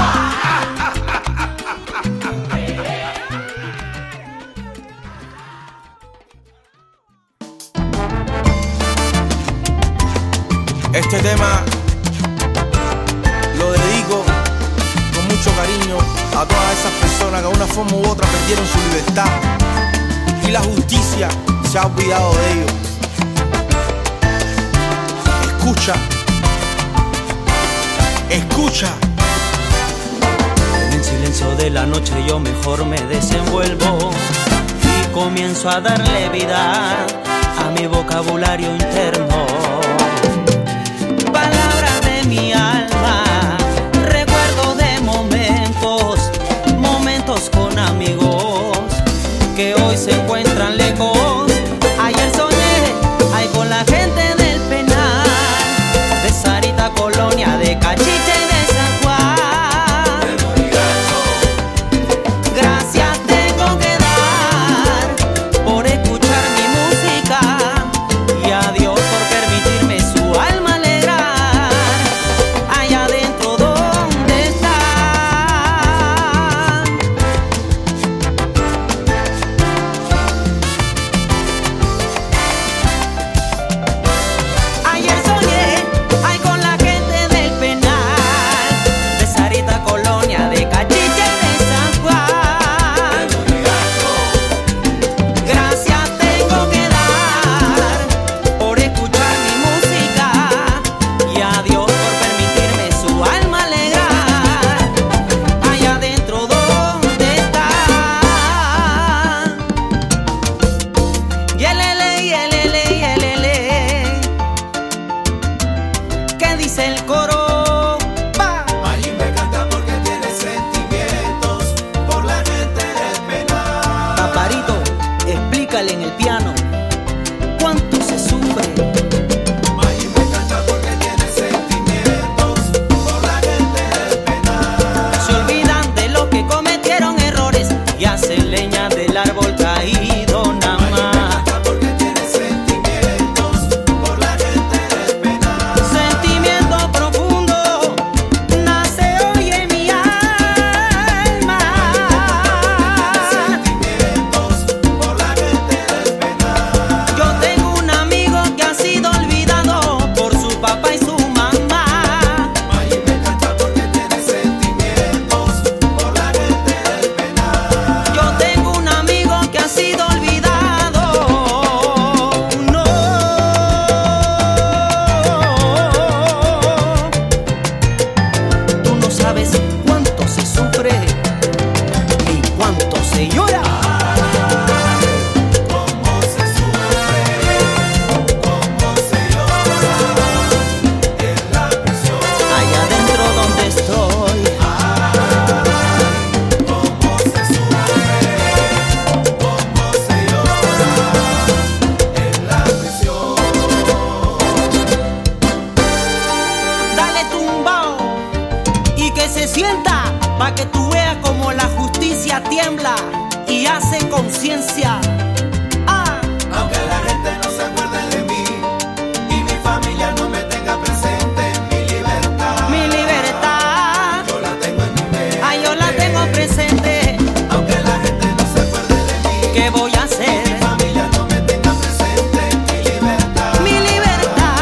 Este tema lo dedico con mucho cariño a todas esas personas que de una forma u otra perdieron su libertad y la justicia se ha olvidado de ellos. Escucha, escucha. En el silencio de la noche yo mejor me desenvuelvo y comienzo a darle vida a mi vocabulario interno. Palabras de mi alma, recuerdo de momentos, momentos con amigos que hoy se encuentran lejos. Ayer soñé, ay, con la gente del penal, de Sarita, Colonia, de Cachiche y de San Juan. Gracias tengo que dar por escuchar mi música y a Dios por permitirme su alma alegrar. Allá adentro donde está. Ayer soñé, ay, con la gente del penal, de Sarita, Colonia, de Cachiche y de San Juan. Gracias tengo que dar por escuchar mi música y a Dios por permitirme su alma alegrar. Allá adentro donde está. Yelele, yelele, yelele. ¿Qué dice el coro? Va. Allí me canta porque tiene sentimientos por la gente del penal. Paparito, explícale en el piano cuánto se sufre. Allí me canta porque tiene sentimientos por la gente del penal. Se olvidan de los que cometieron errores y hacen leña del árbol caído nada más. Porque tiene sentimientos por la gente del penal. Sentimiento profundo nace hoy en mi alma. Sentimientos por la gente del penal. Yo tengo un amigo que ha sido olvidado por su papá y su mamá. Allí me canta porque tiene sentimientos por la gente del penal. Yo tengo un amigo que ha sido olvidado. No. Tú no sabes cuánto se sufre ni cuánto se llora. Cómo se sufre, cómo se llora en la prisión. Allá adentro donde estoy. Cómo se sufre, cómo se llora en la prisión. Dale tumbao y que se sienta pa' que tú veas como la justicia tiembla y hace conciencia. Ah, Aunque la gente no se acuerde de mí y mi familia no me tenga presente, mi libertad, mi libertad, yo la tengo en mi mente. ay, yo la tengo presente. Aunque la gente no se acuerde de mí, ¿Qué voy a hacer? mi familia no me tenga presente, mi libertad, Mi libertad.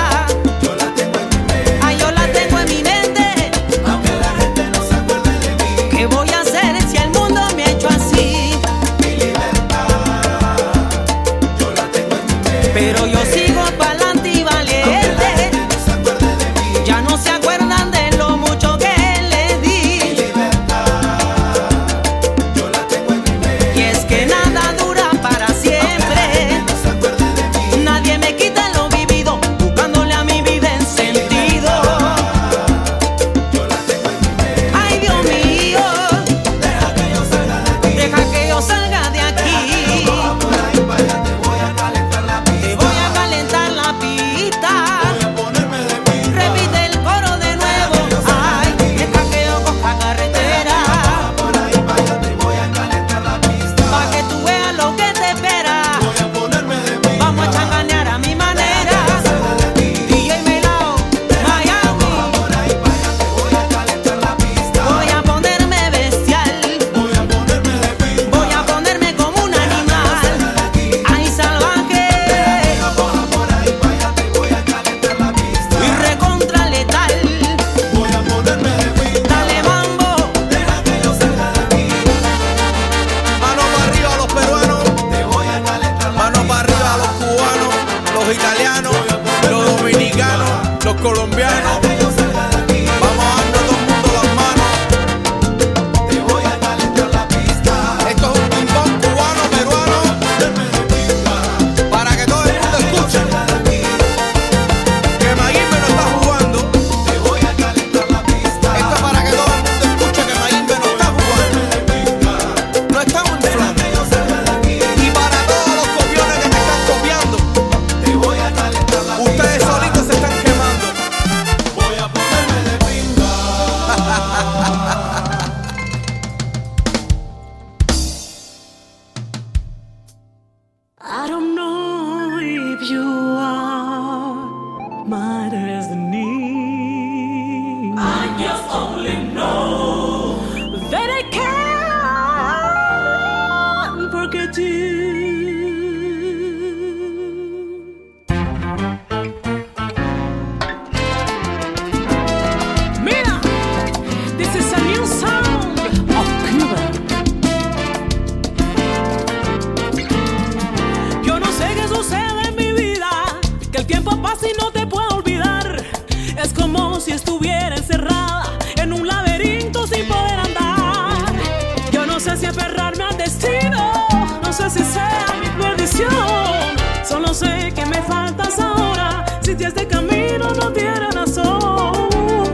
colombianos. Vamos a darnos todo el mundo las manos. Te voy a calentar la pista. Esto es un timbón cubano, peruano, para que todo el mundo escuche que Mayimbe no está jugando. Te voy a calentar la pista. Esto es para que todo el mundo escuche que Mayimbe no está jugando. No estamos inflando. Y para todos los copiones que me están copiando, Te voy a calentar la pista. ustedes solitos se están quemando. Voy a ponerme de pinga. I don't know if you are my destiny. I just only know that I can't forget you. Mira, this is a new sound of Cuba. Yo no sé qué sucede en mi vida, que el tiempo pasa y no te puedo olvidar. Es como si estuviera encerrada en un laberinto sin poder andar. Yo no sé si aferrarme al destino, no sé si sea mi perdición. Solo sé que me faltas ahora, si este camino no tiene razón.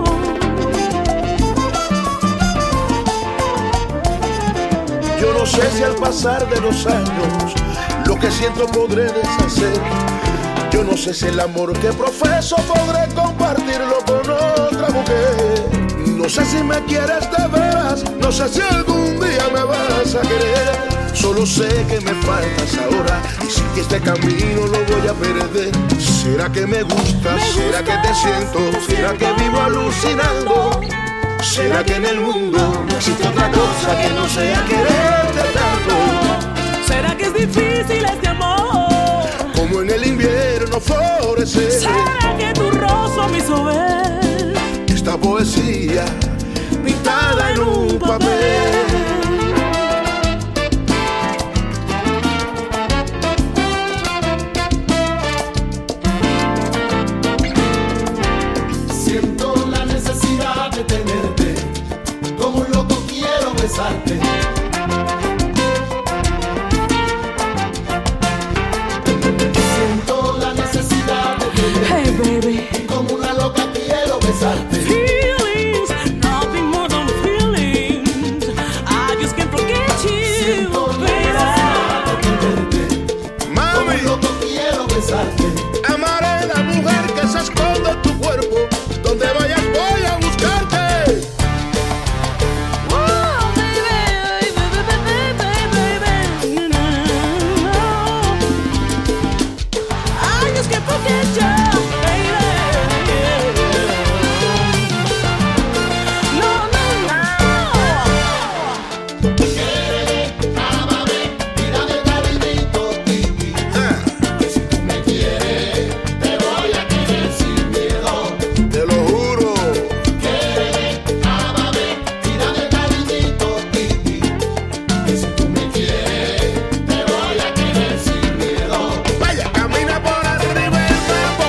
Yo no sé si al pasar de los años lo que siento podré deshacer. Yo no sé si el amor que profeso podré compartirlo con otra mujer. No sé si me quieres de veras, no sé si algún día me vas a querer. Solo sé que me faltas ahora y si este camino lo voy a perder. ¿Será que me gustas? ¿Será que te siento? ¿Será que vivo alucinando? ¿Será que en el mundo no existe otra cosa que no sea quererte tanto? ¿Será que es difícil este amor? Como en el invierno florecer. ¿Será que tu rostro me hizo ver esta poesía pintada en un papel? Siento la necesidad de tenerte. Como un loco quiero besarte. Siento la necesidad de tenerte. Hey baby, Como una loca quiero besarte. feelings, nothing more than feelings. I just can't forget you, Siento la baby. necesidad de tenerte. Como Mami, un loco quiero besarte. amaré la mujer que se esconde en tu cuerpo. Donde vayas voy a buscarte. Oh, baby, baby, baby, baby, baby, you know. I just can't forget you, baby. No, no, no. Ámame, mírame cariñito, Titi. Que si tú me quieres, te voy a querer sin miedo. Te lo juro. Ámame, mírame cariñito, Titi. Que si tú me quieres, te voy a querer sin miedo. Vaya, camina por arriba el campo.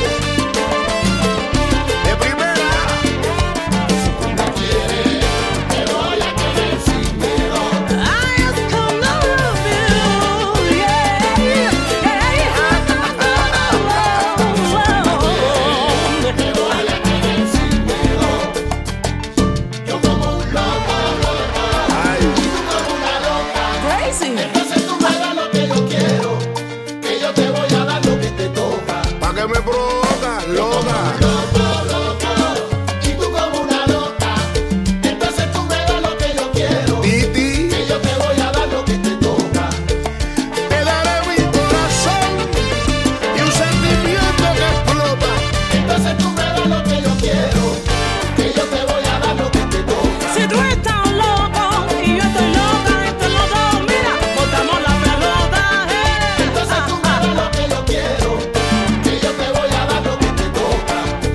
De primera. Si tú me quieres, te voy a querer sin miedo. I just come to love you, yeah, yeah. I'm gonna love you. Te voy a querer sin miedo. Yo como un loco, loco. Ay, Y tú como una loca. Crazy. Entonces tú me das lo que yo quiero. Que yo te voy a dar lo que te toca. pa' que me provocas, loca. Loco, loco, y tú como una loca. Entonces tú me das lo que yo quiero. Titi, Que yo te voy a dar lo que te toca. te daré mi corazón y un sentimiento que explota. Entonces tú me das lo que yo quiero. Que yo te voy a dar lo que te toca. Si tú estás loco y yo estoy loca, entre los dos, mira, botamos la pelota, eh. Entonces tú me das lo que yo quiero. Que yo te voy a dar lo que te toca.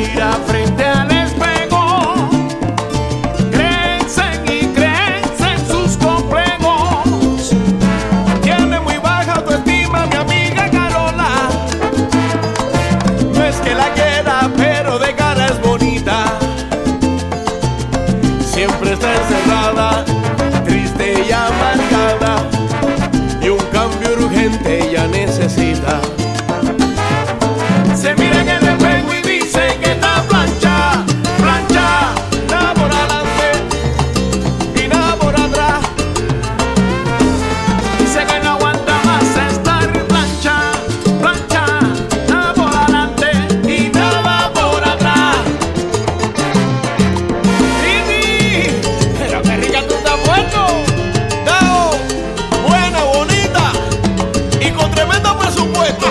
mira frente al espejo, crecen y crecen sus complejos. Tiene muy baja autoestima mi amiga Carola. No es que la quiera, pero de cara es bonita. Siempre está encerrada, triste y amargada, y un cambio urgente ella necesita. Se mira en el espejo y dice que está plancha, plancha, nada por adelante y nada por atrás. Dice que no aguanta más estar plancha, plancha, nada por adelante y nada por atrás. Titi, pero qué rica tú te has puesto. Dao, buena, bonita y con tremendo presupuesto.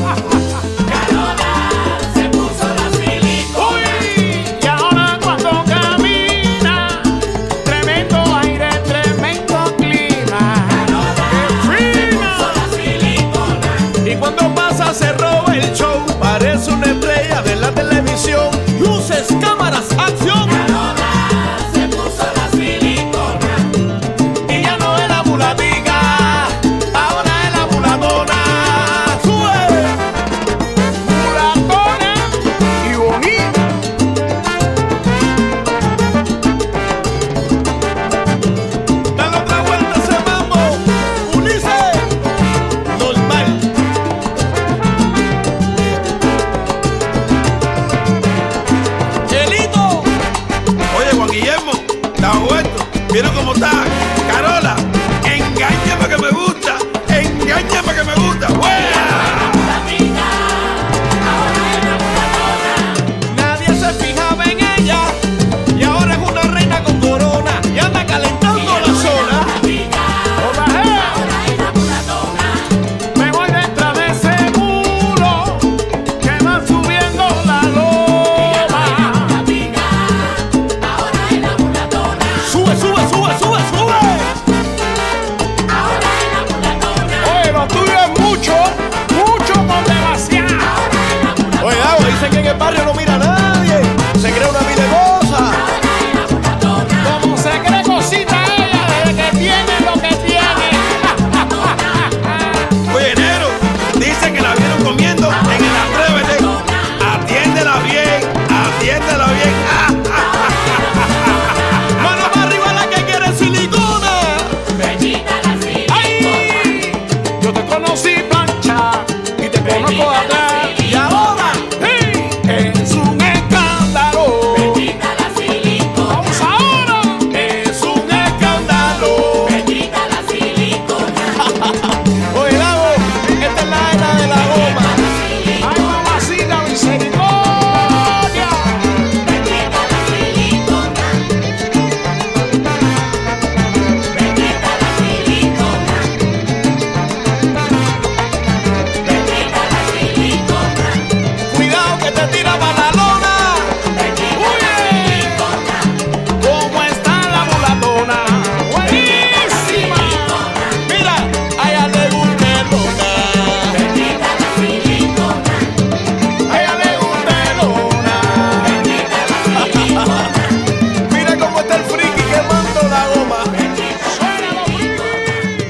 Se roba el show, parece una estrella de la televisión. Luces, cámaras, acción. Carola se puso la silicona y ya no es la mulatica, ahora es la mulatona. Sube, mulatona y bonita. Dale otra vuelta ese mambo, Ulises. Normal. Guillermo, está vuelto. ¿Vieron cómo está? Carola, engáñame que me gusta. Engáñame que me gusta. Nadie se fijaba en ella y ahora es una reina con corona y anda calentando la zona. Me voy detrás de ese muro que va subiendo la loma. Sube, sube, sube, sube, sube. Ahora es la mulatona. Oye, lo tuyo es mucho, mucho con demasiado. Oye, Dago, dice que en el barrio no mira a nadie. Se cree una mil de cosas. Como se cree cosita ella desde que tiene lo que tiene. Oye, Nero, dice que la vieron comiendo en el Atrévete. Atiéndela bien, atiéndela bien. Mano para arriba la que quiere silicona. Ay, yo te conocí plancha y te conozco de atrás. Y ahora, hey, es un escándalo. Vamos ahora, es un escándalo. Oye, Lago, esta es la era de la goma. Ay, mamacita, misericordia. Cuidado que te tira para la lona. Uy, ¿cómo está la mulatona? Buenísima. Mira, a ella le gusta el lona. A ella le gusta el lona. Mira cómo está el friki quemando la goma. Suena los frikis.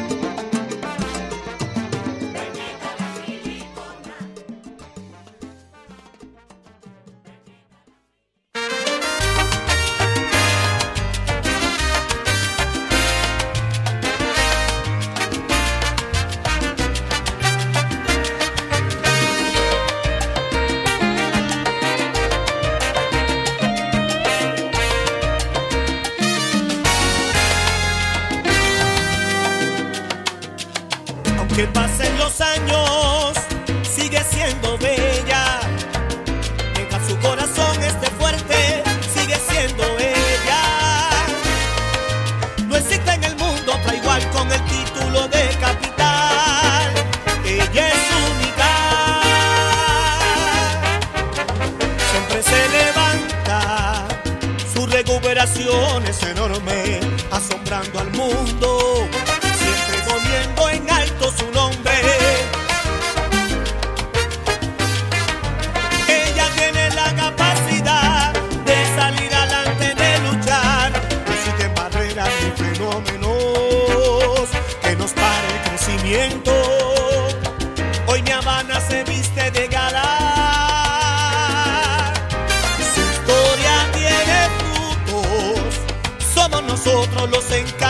Aunque pasen los años, sigue siendo bella. Mientras su corazón esté fuerte, sigue siendo ella. No existe en el mundo otra igual con el título de capital. Ella es única. Siempre se levanta, su recuperación es enorme, asombrando al mundo. Siempre poniendo en alto su nombre. Ella tiene la capacidad nosotros los encargamos.